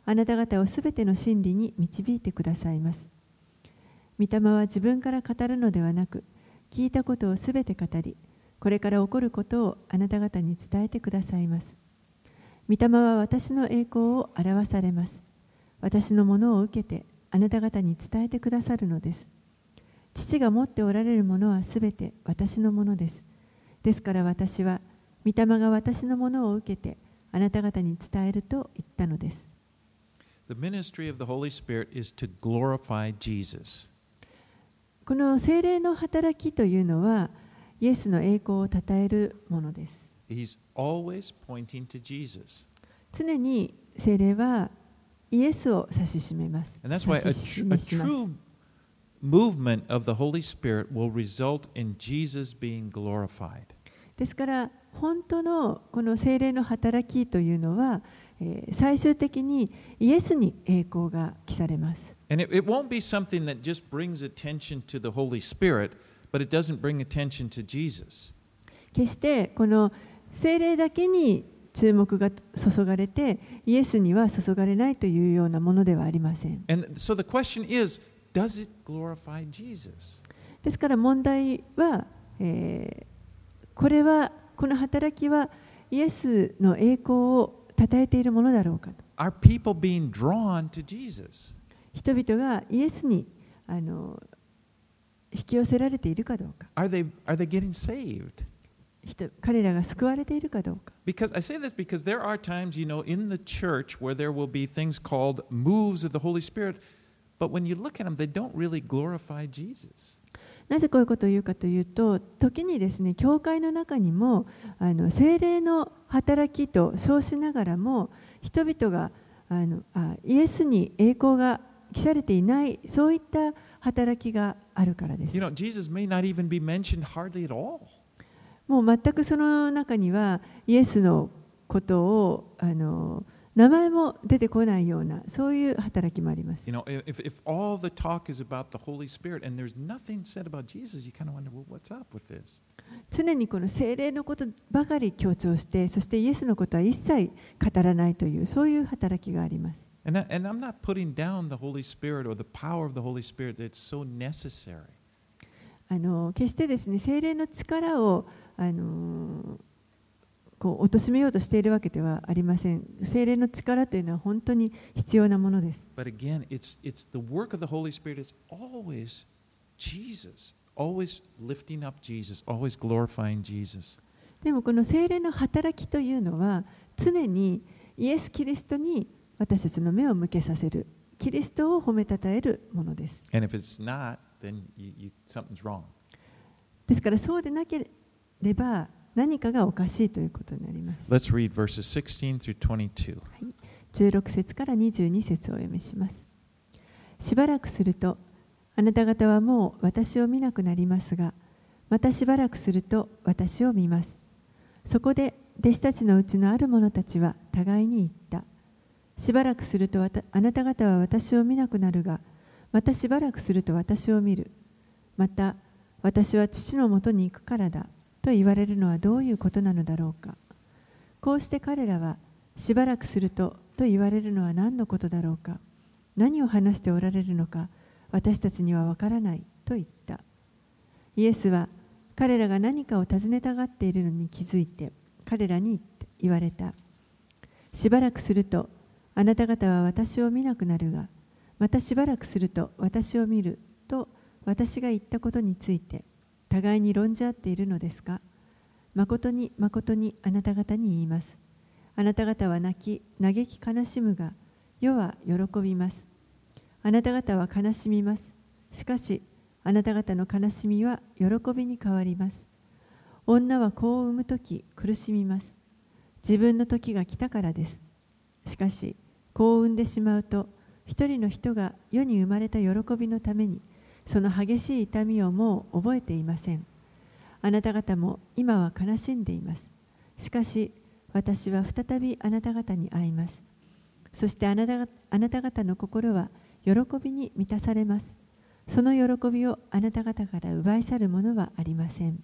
あなた方をすべての真理に導いてくださいます。御霊は自分から語るのではなく、聞いたことをすべて語り、これから起こることをあなた方に伝えてくださいます。御霊は私の栄光を表されます。私のものを受けてあなた方に伝えてくださるのです。父が持っておられるものはすべて私のものです。ですから私は、御霊が私のものを受けてあなた方に伝えると言ったのです。 The ministry of the Holy Spirit is to glorify Jesus. この聖霊の働きというのは、イエスの栄光をたたえるものです。 He's always pointing to Jesus. 常に聖霊はイエスを指し示めます。 And that's why a, 指し tr- a 示します。 true movement of the Holy Spirit will result in Jesus being glorified. ですから本当のこの聖霊の働きというのは、えー最終的にイエスに栄光が来されます。 And it, it won't be something that just brings attention to the Holy Spirit, but it doesn't bring attention to Jesus. 決してこの聖霊だけに注目が注がれてイエスには注がれないというようなものではありません。 And so the question is, does it glorify Jesus? ですから問題は、えーこれはこの働きはイエスの栄光を称えているものだろうかと。 Are people being drawn to Jesus? 人々がイエスにあの引き寄せられているかどうか。 Are they, are they getting saved? 人彼らが救われているかどうか。 Because I say this because there are times, you know, in the church where there will be things called moves of the Holy Spirit, but when you look at them, they don't really glorify Jesus. なぜこういうことを言うかというと、時にですね、教会の中にもあの聖霊の働きと称しながらも、人々があのあイエスに栄光が来されていない、そういった働きがあるからです。 You know, Jesus may not even be mentioned hardly at all. もう全くその中にはイエスのことをあの名前も出てこないようなそういう働きもあります。 You know, if, if all the talk is about the Holy Spirit and there's nothing said about Jesus, you kind of wonder, well, what's up with this? 常にこの聖霊のことばかり強調して、そしてイエスのことは一切語らないというそういう働きがあります。 And, that, and I'm not putting down the Holy Spirit or the power of the Holy Spirit that's so necessary. あの決してですね、聖霊の力をあのこう貶めようとしているわけではありません。聖霊の力というのは本当に必要なものです。 But again, it's, it's the work of the Holy Spirit is always Jesus, always lifting up Jesus, always glorifying Jesus. でもこの聖霊の働きというのは常にイエス・キリストに私たちの目を向けさせる、キリストを褒めたたえるものです。 And if it's not, then you, you, something's wrong. ですからそうでなければ何かがおかしいということになります。 Let's read verses sixteen through twenty-two. じゅうろく節からにじゅうに節をお読みします。しばらくすると、あなた方はもう私を見なくなりますが、またしばらくすると私を見ます。そこで弟子たちのうちのある者たちは互いに言った。しばらくするとあなた方は私を見なくなるが、またしばらくすると私を見る。また、私は父のもとに行くからだと言われるのはどういうことなのだろうか。こうして彼らは、しばらくするとと言われるのは何のことだろうか。何を話しておられるのか、私たちにはわからないと言った。イエスは彼らが何かを尋ねたがっているのに気づいて、彼らに言われた。しばらくすると、あなた方は私を見なくなるが、またしばらくすると私を見ると私が言ったことについて、互いに論じ合っているのですか。誠に誠にあなた方に言います。あなた方は泣き、嘆き悲しむが、世は喜びます。あなた方は悲しみます。しかし、あなた方の悲しみは喜びに変わります。女は子を産むとき苦しみます。自分の時が来たからです。しかし、子を産んでしまうと、一人の人が世に生まれた喜びのために、その激しい痛みをもう覚えていません。あなた方も今は悲しんでいます。しかし、私は再びあなた方に会います。そしてあなた、あなた方の心は喜びに満たされます。その喜びをあなた方から奪い去るものはありません。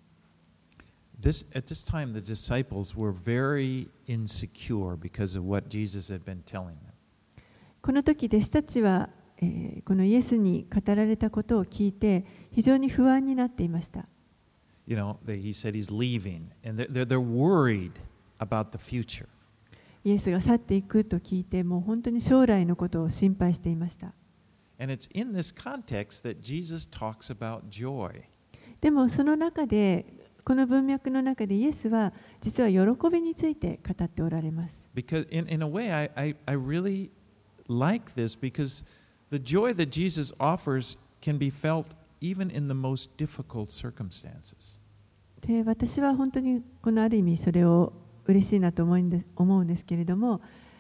This, at this time, the disciples were very insecure because of what Jesus had been telling them. この時弟子たちは、えーこのイエスに語られたことを聞いて非常に不安になっていました。 You know, they, he said he's leaving, and they're, they're, they're worried about the future. イエスが去っていくと聞いて、もう本当に将来のことを心配していました。 And it's in this context that Jesus talks about joy. でもその中で、この文脈の中でイエスは実は喜びについて語っておられます。 Because in, in a way, I, I, I really like this because the joy that Jesus offers can be felt even in the most difficult circumstances. で、私は本当にこのある意味それを嬉しいなと思うんです、思うんですけれども、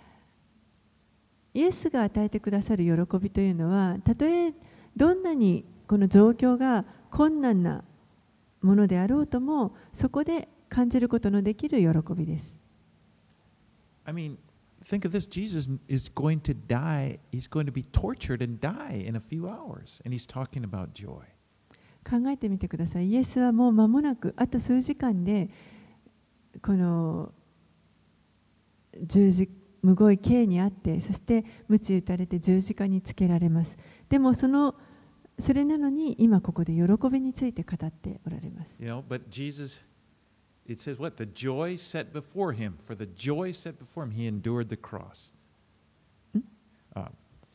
イエスが与えてくださる喜びというのは、たとえどんなにこの状況が困難なものであろうとも、そこで感じることのできる喜びです。 I mean, think of this. Jesus is going to die. He's going to be tortured and die in a few hours. And he's talking about joy. 考えてみてください。イエスはもう間もなく、あと数時間で、この十字むごい刑にあって、そして鞭打たれて十字架につけられます。でもそのそれなのに今ここで喜びについて語っておられます。 You know, but Jesus, it says what? The joy set before him. For the joy set before him, he endured the cross. Uh,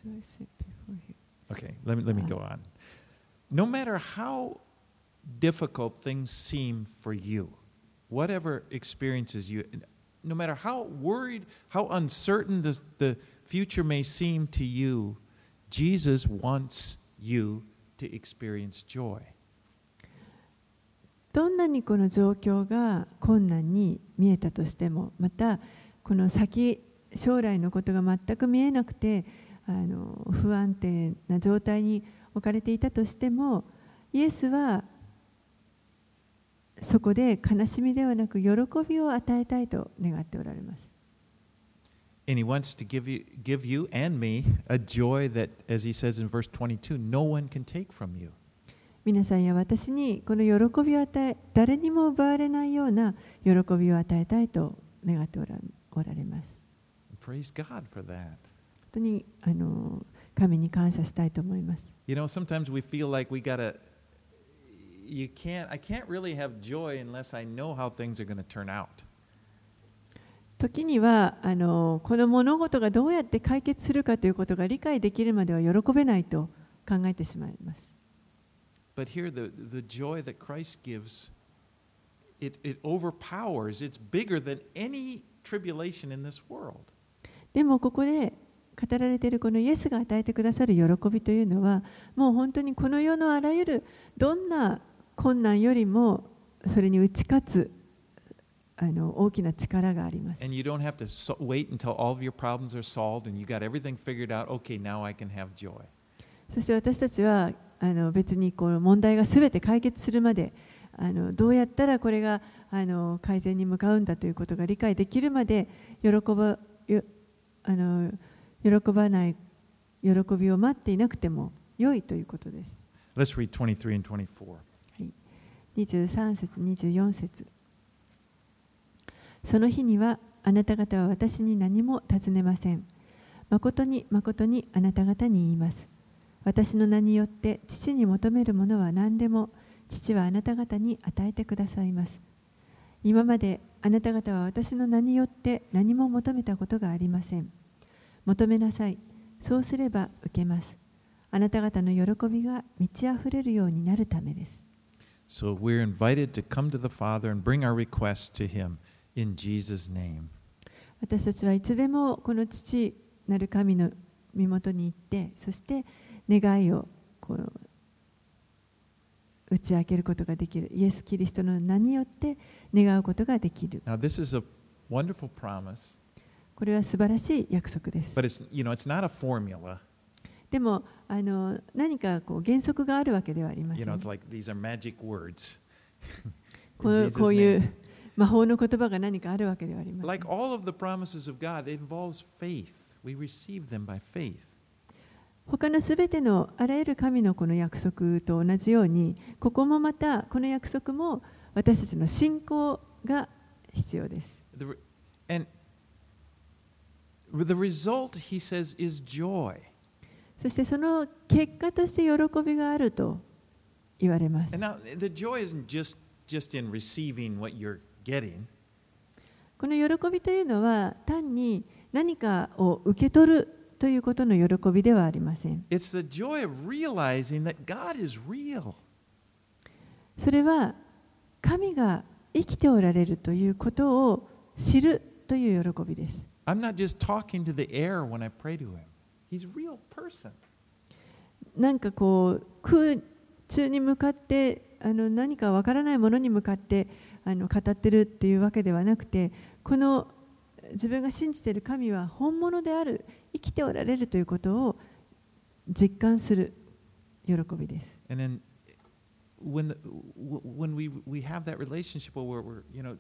okay, let me, let me go on. No matter how difficult things seem for you, whatever experiences you, no matter how worried, how uncertain the, the future may seem to you, Jesus wants you to experience joy. どんなにこの状況が困難に見えたとしても、またこの先将来のことが全く見えなくて、あの不安定な状態に置かれていたとしても、イエスはそこで悲しみではなく喜びを与えたいと願っておられます。 And he wants to give you, give you and me a joy that, as he says in verse twenty-two, no one can take from you. 皆さんや私にこの喜びを与え、誰にも奪われないような喜びを与えたいと願っておら、おられます。 Praise God for that. 本当にあの神に感謝したいと思います。 You know, sometimes we feel like we gotta, you can't, I can't really have joy unless I know how things are going to turn out. 時にはあのこの物事がどうやって解決するかということが理解できるまでは喜べないと考えてしまいます。 But here, the, the joy that Christ gives, it, it overpowers, it's bigger than any tribulation in this world. でもここで語られているこのイエスが与えてくださる喜びというのは、もう本当にこの世のあらゆるどんな困難よりもそれに打ち勝つあの大きな力があります。 And you don't have to so wait until all of your problems are solved and you got everything figured out. Okay, now I can have joy. そして私たちはあの別にこの問題がすべて解決するまであのどうやったらこれがあの改善に向かうんだということが理解できるまで喜ばよあの喜ばない喜びを待っていなくても良いということです。 Let's read twenty-three and twenty-four. はい、にじゅうさん節にじゅうよん節。その日にはあなた方は私に何も尋ねません。誠に誠にあなた方に言います。私の名によって父に求めるものは何でも父はあなた方に与えてくださいます。今まであなた方は私の名によって何も求めたことがありません。求めなさい。そうすれば受けます。あなた方の喜びが満ち溢れるようになるためです。 So we're invited to come to the Father and bring our requests to Him in Jesus' name. 私たちはいつでもこの父なる神の身元に行って、そして願いをこう打ち明けることができる。イエス・キリストの名によって願うことができる。 Now, this is a wonderful promise. これは素晴らしい約束です。 But it's, you know, it's not a formula. でもあの何かこう原則があるわけではありませ You ん。 know, it's like these are magic words. こうこういう魔法の言葉が何かあるわけではありません。 Like all of the promises of God, it involves faith. We receive them by faith. 他のすべてのあらゆる神のこの約束と同じように、ここもまたこの約束も私たちの信仰が必要です。 The, and The result, he says, is joy. そしてその結果として喜びがあると言われます。 And now, the joy isn't just, just in receiving what you're getting. この喜びというのは単に何かを受け取るということの喜びではありません。 It's the joy of realizing that God is real. それは神が生きておられるということを知るという喜びです。 I'm not just talking to the air when I pray to him. He's a real person. なんかこう空中に向かってあの何かわからないものに向かってあの語ってるっていうわけではなくて、この自分が信じている神は本物である、生きておられるということを実感する喜びです。 And then when, the, when we, we have that relationship where we're, you know,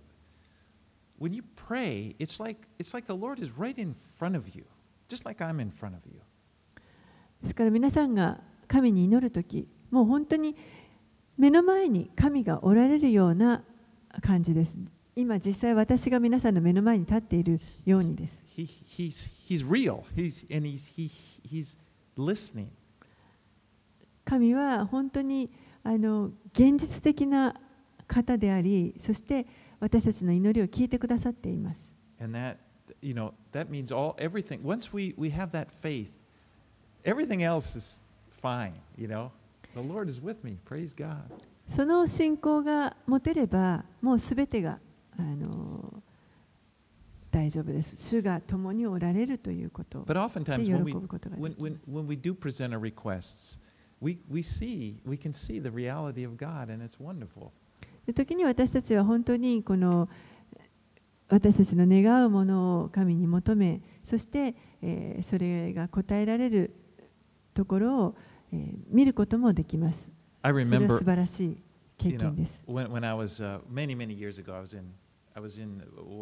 when you pray, it's like, it's like the Lord is right in front of you, just like I'm in front of you. ですから皆さんが神に祈るとき、もう本当に目の前に神がおられるような感じです。今実際私が皆さんの目の前に立っているようにです。 He, he's, he's real. He's, and he's, he, he's listening. 神は本当にあの現実的な方であり、そして私たちの祈りを聞いてくださっています。 And that, you know, that means all everything. Once we, we have that faith, everything else is fine, you know. The Lord is with me. Praise God. その信仰が持てれば、もうすべてがあの大丈夫です。主が共におられるということ。 But oftentimes when we, when, when, when we do present our requests, we, we see, we can see the reality of God, and it's wonderful. 時に私たちは本当にこの私たちの願うものを神に求め、そして、えー、それが答えられるところを、えー、見ることもできます。 I remember, それは素晴らしい経験です。 You know, when, when I was uh, many, many years ago, I was in, I was in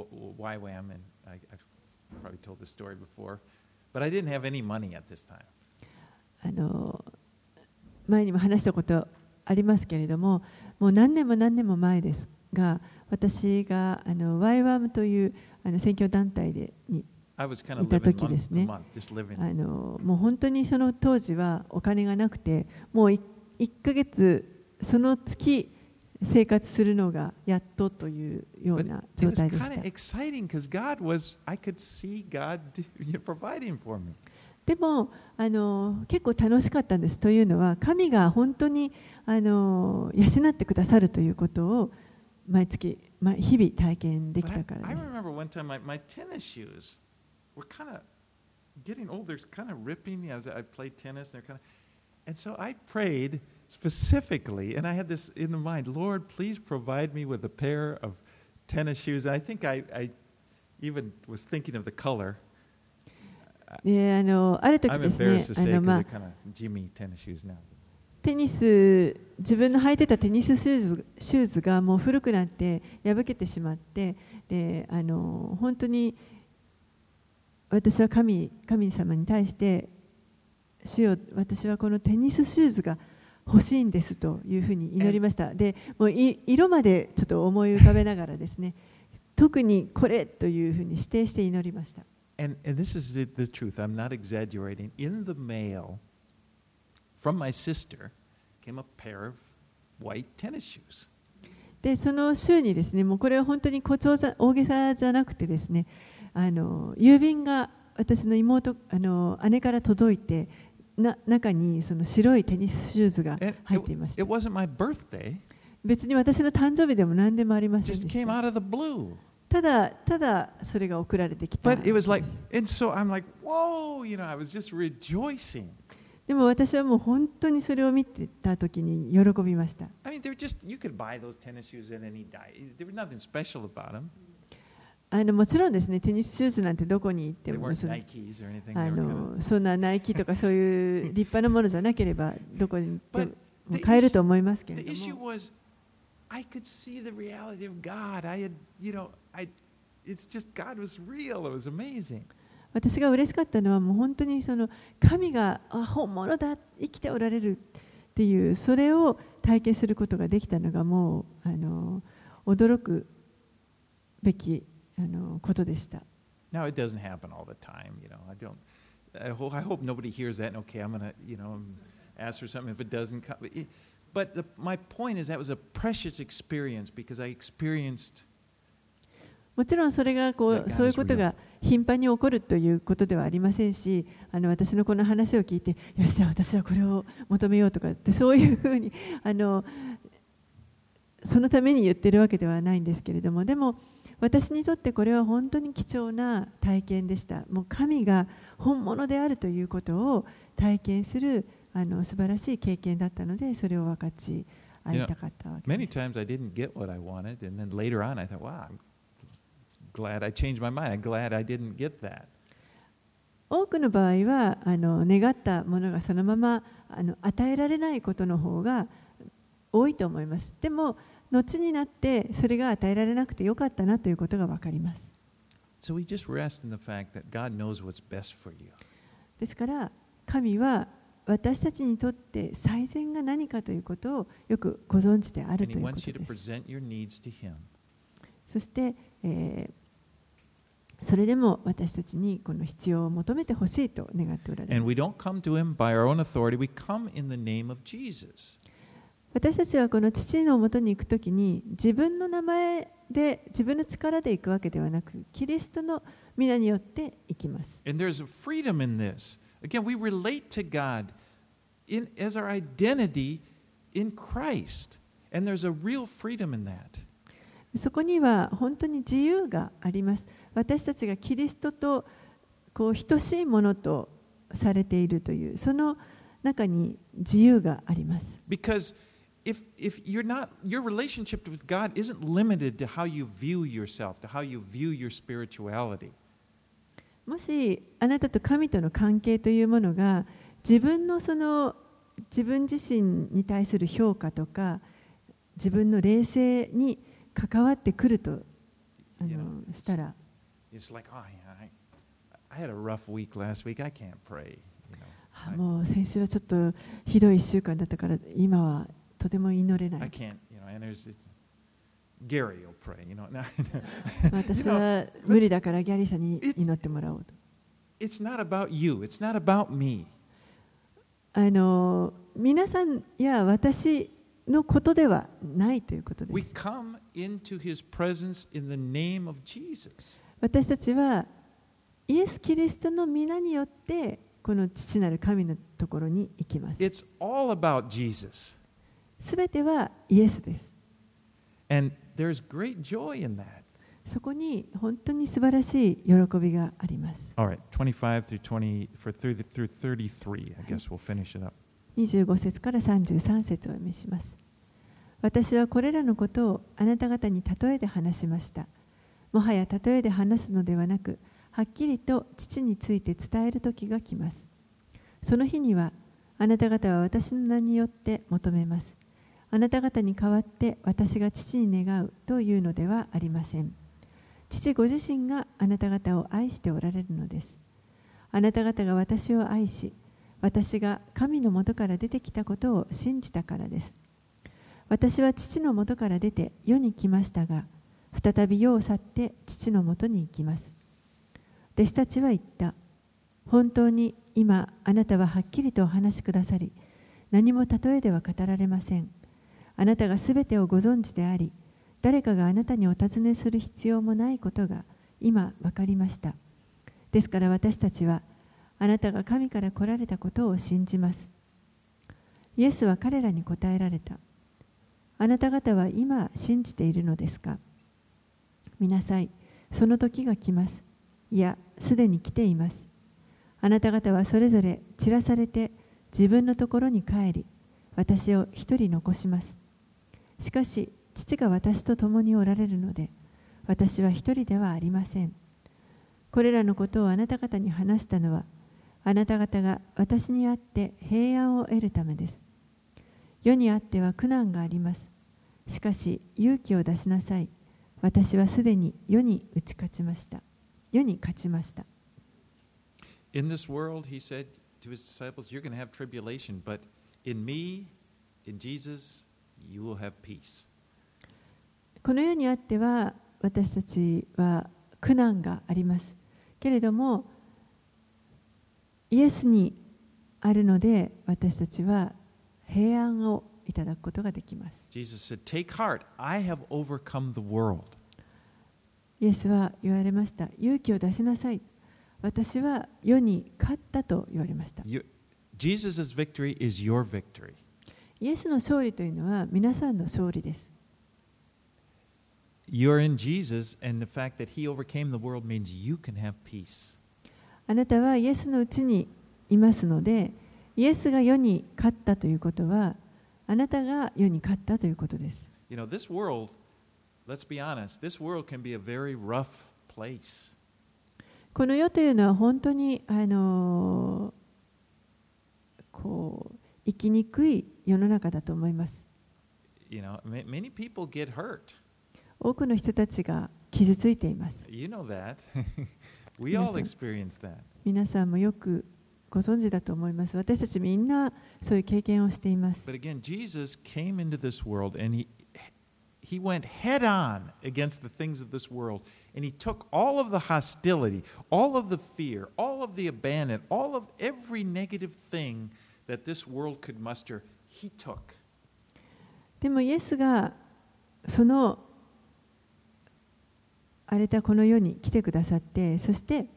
Y WAM, and I, I've probably told this story before, but I didn't have any money at this time. あの前にも話したことありますけれども、もう何年も何年も前ですが、私があの ワイワム というあの宣教団体でにいた時ですね。あのもう本当にその当時はお金がなくて、もういっかげつその月生活するのがやっとというような状態でした。でもあの結構楽しかったんです。というのは神が本当にあの養ってくださるということを毎月、ま、日々体験できたからです。 I remember one time my, my tennis shoes were kind of getting old. They're kind of ripping as I played tennis. They're kind of, and so I prayed specifically, and I had this in mind, Lord, please provide me with a pair of tennis shoes. And I think I, I even was thinking of the color. であのある時ですね、あのまあテニス自分の履いてたテニスシューズシューズがもう古くなって破けてしまって、であの本当に私は神神様に対して主よ、私はこのテニスシューズが欲しいんですというふうに祈りました。でもうい色までちょっと思い浮かべながらですね、特にこれというふうに指定して祈りました。 And, and this is the, the truth. I'm not exaggerating. In the mail from my sister came a pair of white tennis shoes. で、その週にですね、もうこれは本当に誇張じゃ大げさじゃなくてですね、あの郵便が私の妹あの姉から届いて、な中にその白いテニスシューズが入っていました。 It, it wasn't my birthday. 別に私の誕生日でも何でもありませんでした。 Just came out of the blue. ただただそれが送られてきた。 But it was like, and so I'm like, whoa, you know, I was just rejoicing. でも私はもう本当にそれを見てた時に喜びました。 I mean, they're just, you could buy those tennis shoes at any day. There was nothing special about them. あのもちろんですね、テニスシューズなんてどこに行ってもそのあのそんなナイキとかそういう立派なものじゃなければどこに行っても買えると思いますけれども。 I could see the reality of God. I had, you know, I, it's just God was real. It was amazing. 私が嬉しかったのはもう本当にその神があ本物だ、生きておられるっていうそれを体験することができたのがもうあの驚くべきあのことでした。 Now, it doesn't happen all the time, you know. I don't. I hope, I hope nobody hears that and, okay, I'm going to, you know, ask for something if it doesn't come. It, but the, my point is that was a precious experience because I experienced もちろんそれがこうそういうことが頻繁に起こるということではありませんし、あの私のこの話を聞いて、よし、じゃあ私はこれを求めようとかってそういうふうにあのそのために言ってるわけではないんですけれども、でも私にとってこれは本当に貴重な体験でした。もう神が本物であるということを体験するあの素晴らしい経験だったので、それを分かち合いたかったわけです。 Many times I didn't get what I wanted, and then later on I thought, wow, I'm glad I changed my mind. I'm glad I didn't get that. 多くの場合はあの願ったものがそのままあの与えられないことの方が多いと思います。でも後になってそれが与えられなくてよかったなということが分かります。 So we just rest in the fact that God knows what's best for you. ですから神は私たちにとって最善が何かということをよくご存知であるということです。そして、えーそれでも私たちにこの必要を求めてほしいと願っておられます。 And we don't come to him by our own authority. We come in the name of Jesus. 私たちはこの父のもとに行くときに自分の名前で自分の力で行くわけではなく、キリストの皆によって行きます。 And there's a freedom in this. Again, we relate to God in, as our identity in Christ. And there's a real freedom in that. そこには本当に自由があります。私たちがキリストとこう等しいものとされているというその中に自由があります。 Because if if you're not your relationship with God isn't limited to how you view yourself, to how you view your spirituality. もしあなたと神との関係というものが自分のその自分自身に対する評価とか自分の霊性に関わってくるとあのしたら。 It's like, oh, yeah, I, I had a rough week last week. I can't pray. You know, もう先週はちょっとひどいいっしゅうかんだったから今はとても祈れない。 I can't, you know, and there's Gary will pray, you know. 私は無理だからギャリーさんに祈ってもらおうと。 It's not about you. It's not about me. あの皆さんや私のことではないということです。 We come into His presence in the name of Jesus. 私たちはイエス・キリストの皆によってこの父なる神のところに行きます。 It's all about Jesus. すべてはイエスです。 And there's great joy in that. そこに本当に素晴らしい喜びがあります。 All right, twenty-five through twenty for through thirty-three. I guess we'll finish it up. にじゅうご節からさんじゅうさん節をお読みします。私はこれらのことをあなた方に例えで話しました。もはや例えで話すのではなく、はっきりと父について伝える時が来ます。その日には、あなた方は私の名によって求めます。あなた方に代わって私が父に願うというのではありません。父ご自身があなた方を愛しておられるのです。あなた方が私を愛し、私が神のもとから出てきたことを信じたからです。私は父のもとから出て世に来ましたが、再び世を去って父のもとに行きます。弟子たちは言った。本当に今あなたははっきりとお話しくださり、何も例えでは語られません。あなたがすべてをご存知であり、誰かがあなたにお尋ねする必要もないことが今分かりました。ですから私たちはあなたが神から来られたことを信じます。イエスは彼らに答えられた。あなた方は今信じているのですか。見なさい、その時が来ます。いや、すでに来ています。あなた方はそれぞれ散らされて自分のところに帰り、私を一人残します。しかし、父が私と共におられるので、私は一人ではありません。これらのことをあなた方に話したのは、あなた方が私にあって平安を得るためです。世にあっては苦難があります。しかし、勇気を出しなさい。私はすでに世に打ち勝ちました。世に勝ちました。 In this world, he said to his disciples, you're going to have tribulation, but in me, in Jesus, you will have peace. この世にあっては私たちは苦難があります。 けれども、イエスにあるので、私たちは平安をいただくことができます。 Jesus said, "Take heart, I have overcome the world." イエスは言われました。勇気を出しなさい。私は世に勝ったと言われました。 You, Jesus' victory is your victory. イエスの勝利というのは皆さんの勝利です。 You're in Jesus, and the fact that He overcame the world means you can have peace. あなたはイエスのうちにいますので、イエスが世に勝ったということは、あなたが世に勝ったということです。 You know, this world, let's be honest, this world can be a very rough place. この世というのは本当にあのこう生きにくい世の中だと思います。 You know, many people get hurt. 多くの人たちが傷ついています。 You know that. We all experience that. 皆さんもよくご存知だと思います。私たちみんなそういう経験をしています。 But again, Jesus came into this world and he he went head on against the things of this world, and he took all of the hostility, all of the fear, all of the abandon, all of every negative thing that this world could muster, he took. でもイエスがその荒れたこの世に来てくださって、そして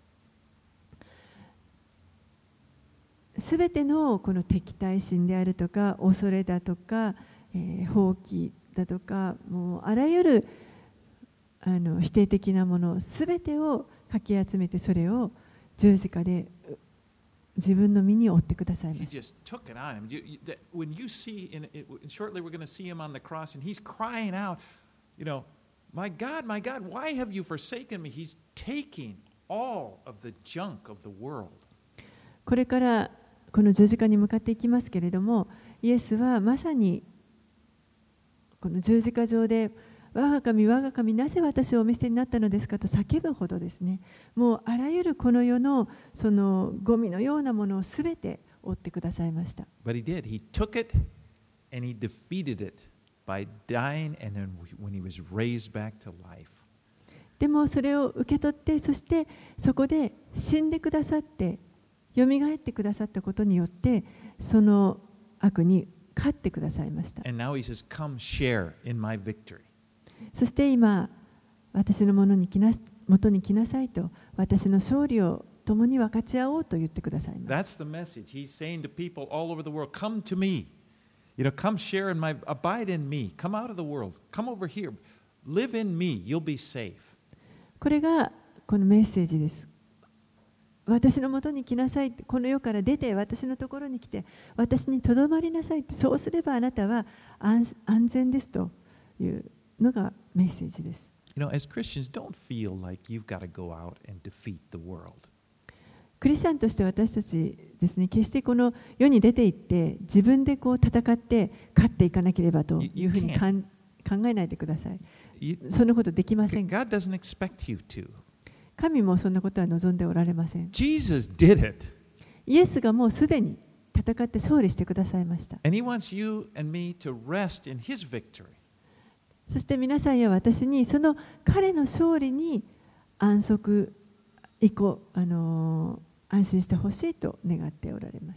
すべてのこの敵対心であるとか恐れだとか、えー、放棄だとか、もうあらゆるあの否定的なものすべてをかき集めて、それを十字架で自分の身に負ってくださいました。 He just took it on him. You, you, that, when you see, in, in, shortly we're going to see him on the cross, and he's crying out, you know, my God, my God, why have you forsaken me? He's taking all of the junk of the world. これからこの十字架に向かっていきますけれども、イエスはまさにこの十字架上で、我が神、我が神、なぜ私をお見捨てになったのですかと叫ぶほどですね、もうあらゆるこの世のそのゴミのようなものをすべて負ってくださいました。 But he did. He took it and he defeated it by dying, and then when he was raised back to life. でもそれを受け取って、そしてそこで死んでくださって、よみがえってくださったことによって、その悪に勝ってくださいました。 And now he says, "Come share in my victory." そして今、私のものに来な元に来なさいと、私の勝利を共に分かち合おうと言ってくださいます。 That's the message. He's saying to people all over the world, "Come to me. You know, come share in my, abide in me. Come out of the world. Come over here. Live in me. You'll be safe." これがこのメッセージです。私のもとに来なさい、この世から出て私のところに来て私にとどまりなさいって、そうすればあなたは 安, 安全ですというのがメッセージです。 You know, as Christians, don't feel like you've got to go out and defeat the world. クリスチャンとして私たちですね、決してこの世に出て行って自分でこう戦って勝っていかなければというふうにかん考えないでください。 You, そんなことできません。 God doesn't expect you to. 神もそんなことは望んでおられません。 Jesus did it. イエスがもうすでに戦って勝利してくださいました。 And he wants you and me to rest in his victory. そして皆さんや私にその彼の勝利に安息以降、あのー、安心してほしいと願っておられます。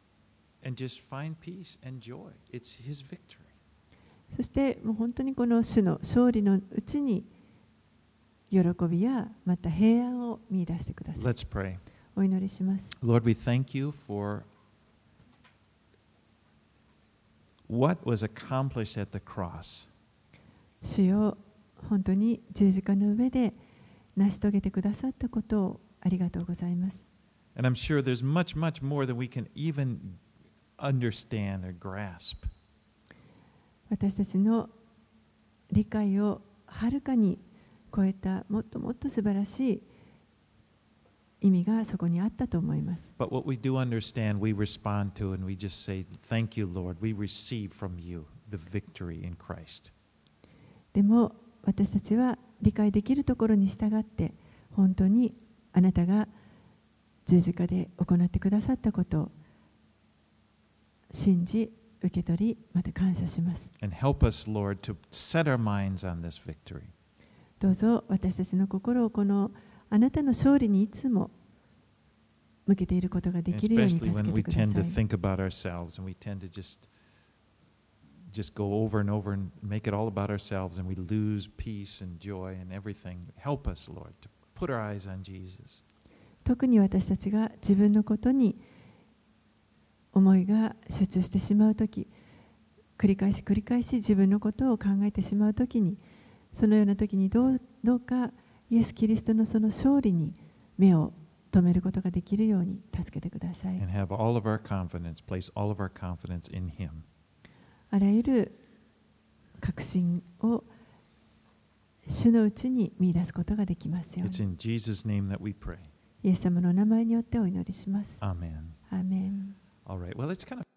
And just find peace and joy. It's his victory. そしてもう本当にこの主の勝利のうちに喜びやまた平安を見出してください。 Let's pray. お祈りします。 Lord, we thank you for what was accomplished at the cross. 主よ、本当に十字架の上で成し遂げてくださったことをありがとうございます。 And I'm sure there's much, much more than we can even understand or grasp. 私たちの理解をはるかに超えたもっともっと素晴らしい意味がそこにあったと思います。 But what we do understand, we respond to, and we just say, "Thank you, Lord. We receive from you the victory in Christ." でも私たちは理解できるところに従って本当にあなたが十字架で行ってくださったことを信じ受け取り、また感謝します。 And help us, Lord, to set our minds on this victory. どうぞ私たちの心をこのあなたの勝利にいつも向けていることができるように助け Especially when て we くださ tend to い。 think about ourselves and we tend to just just go over and over and make it all about ourselves and we lose peace and joy and everything. Help us, Lord, to put our eyes on Jesus. 特に私たちが自分のことに思いが集中してしまうとき、繰り返し繰り返し自分のことを考えてしまうときに、そのようなときにどう、どうかイエス・キリストのその勝利に目を止めることができるように助けてください。 And have all of our confidence, place all of our confidence in Him. あらゆる確信を主のうちに見出すことができますよう It's に。 in Jesus' name that we pray. イエス様の名前によってお祈りします。 Amen. アーメン。 All right. Well, it's kind of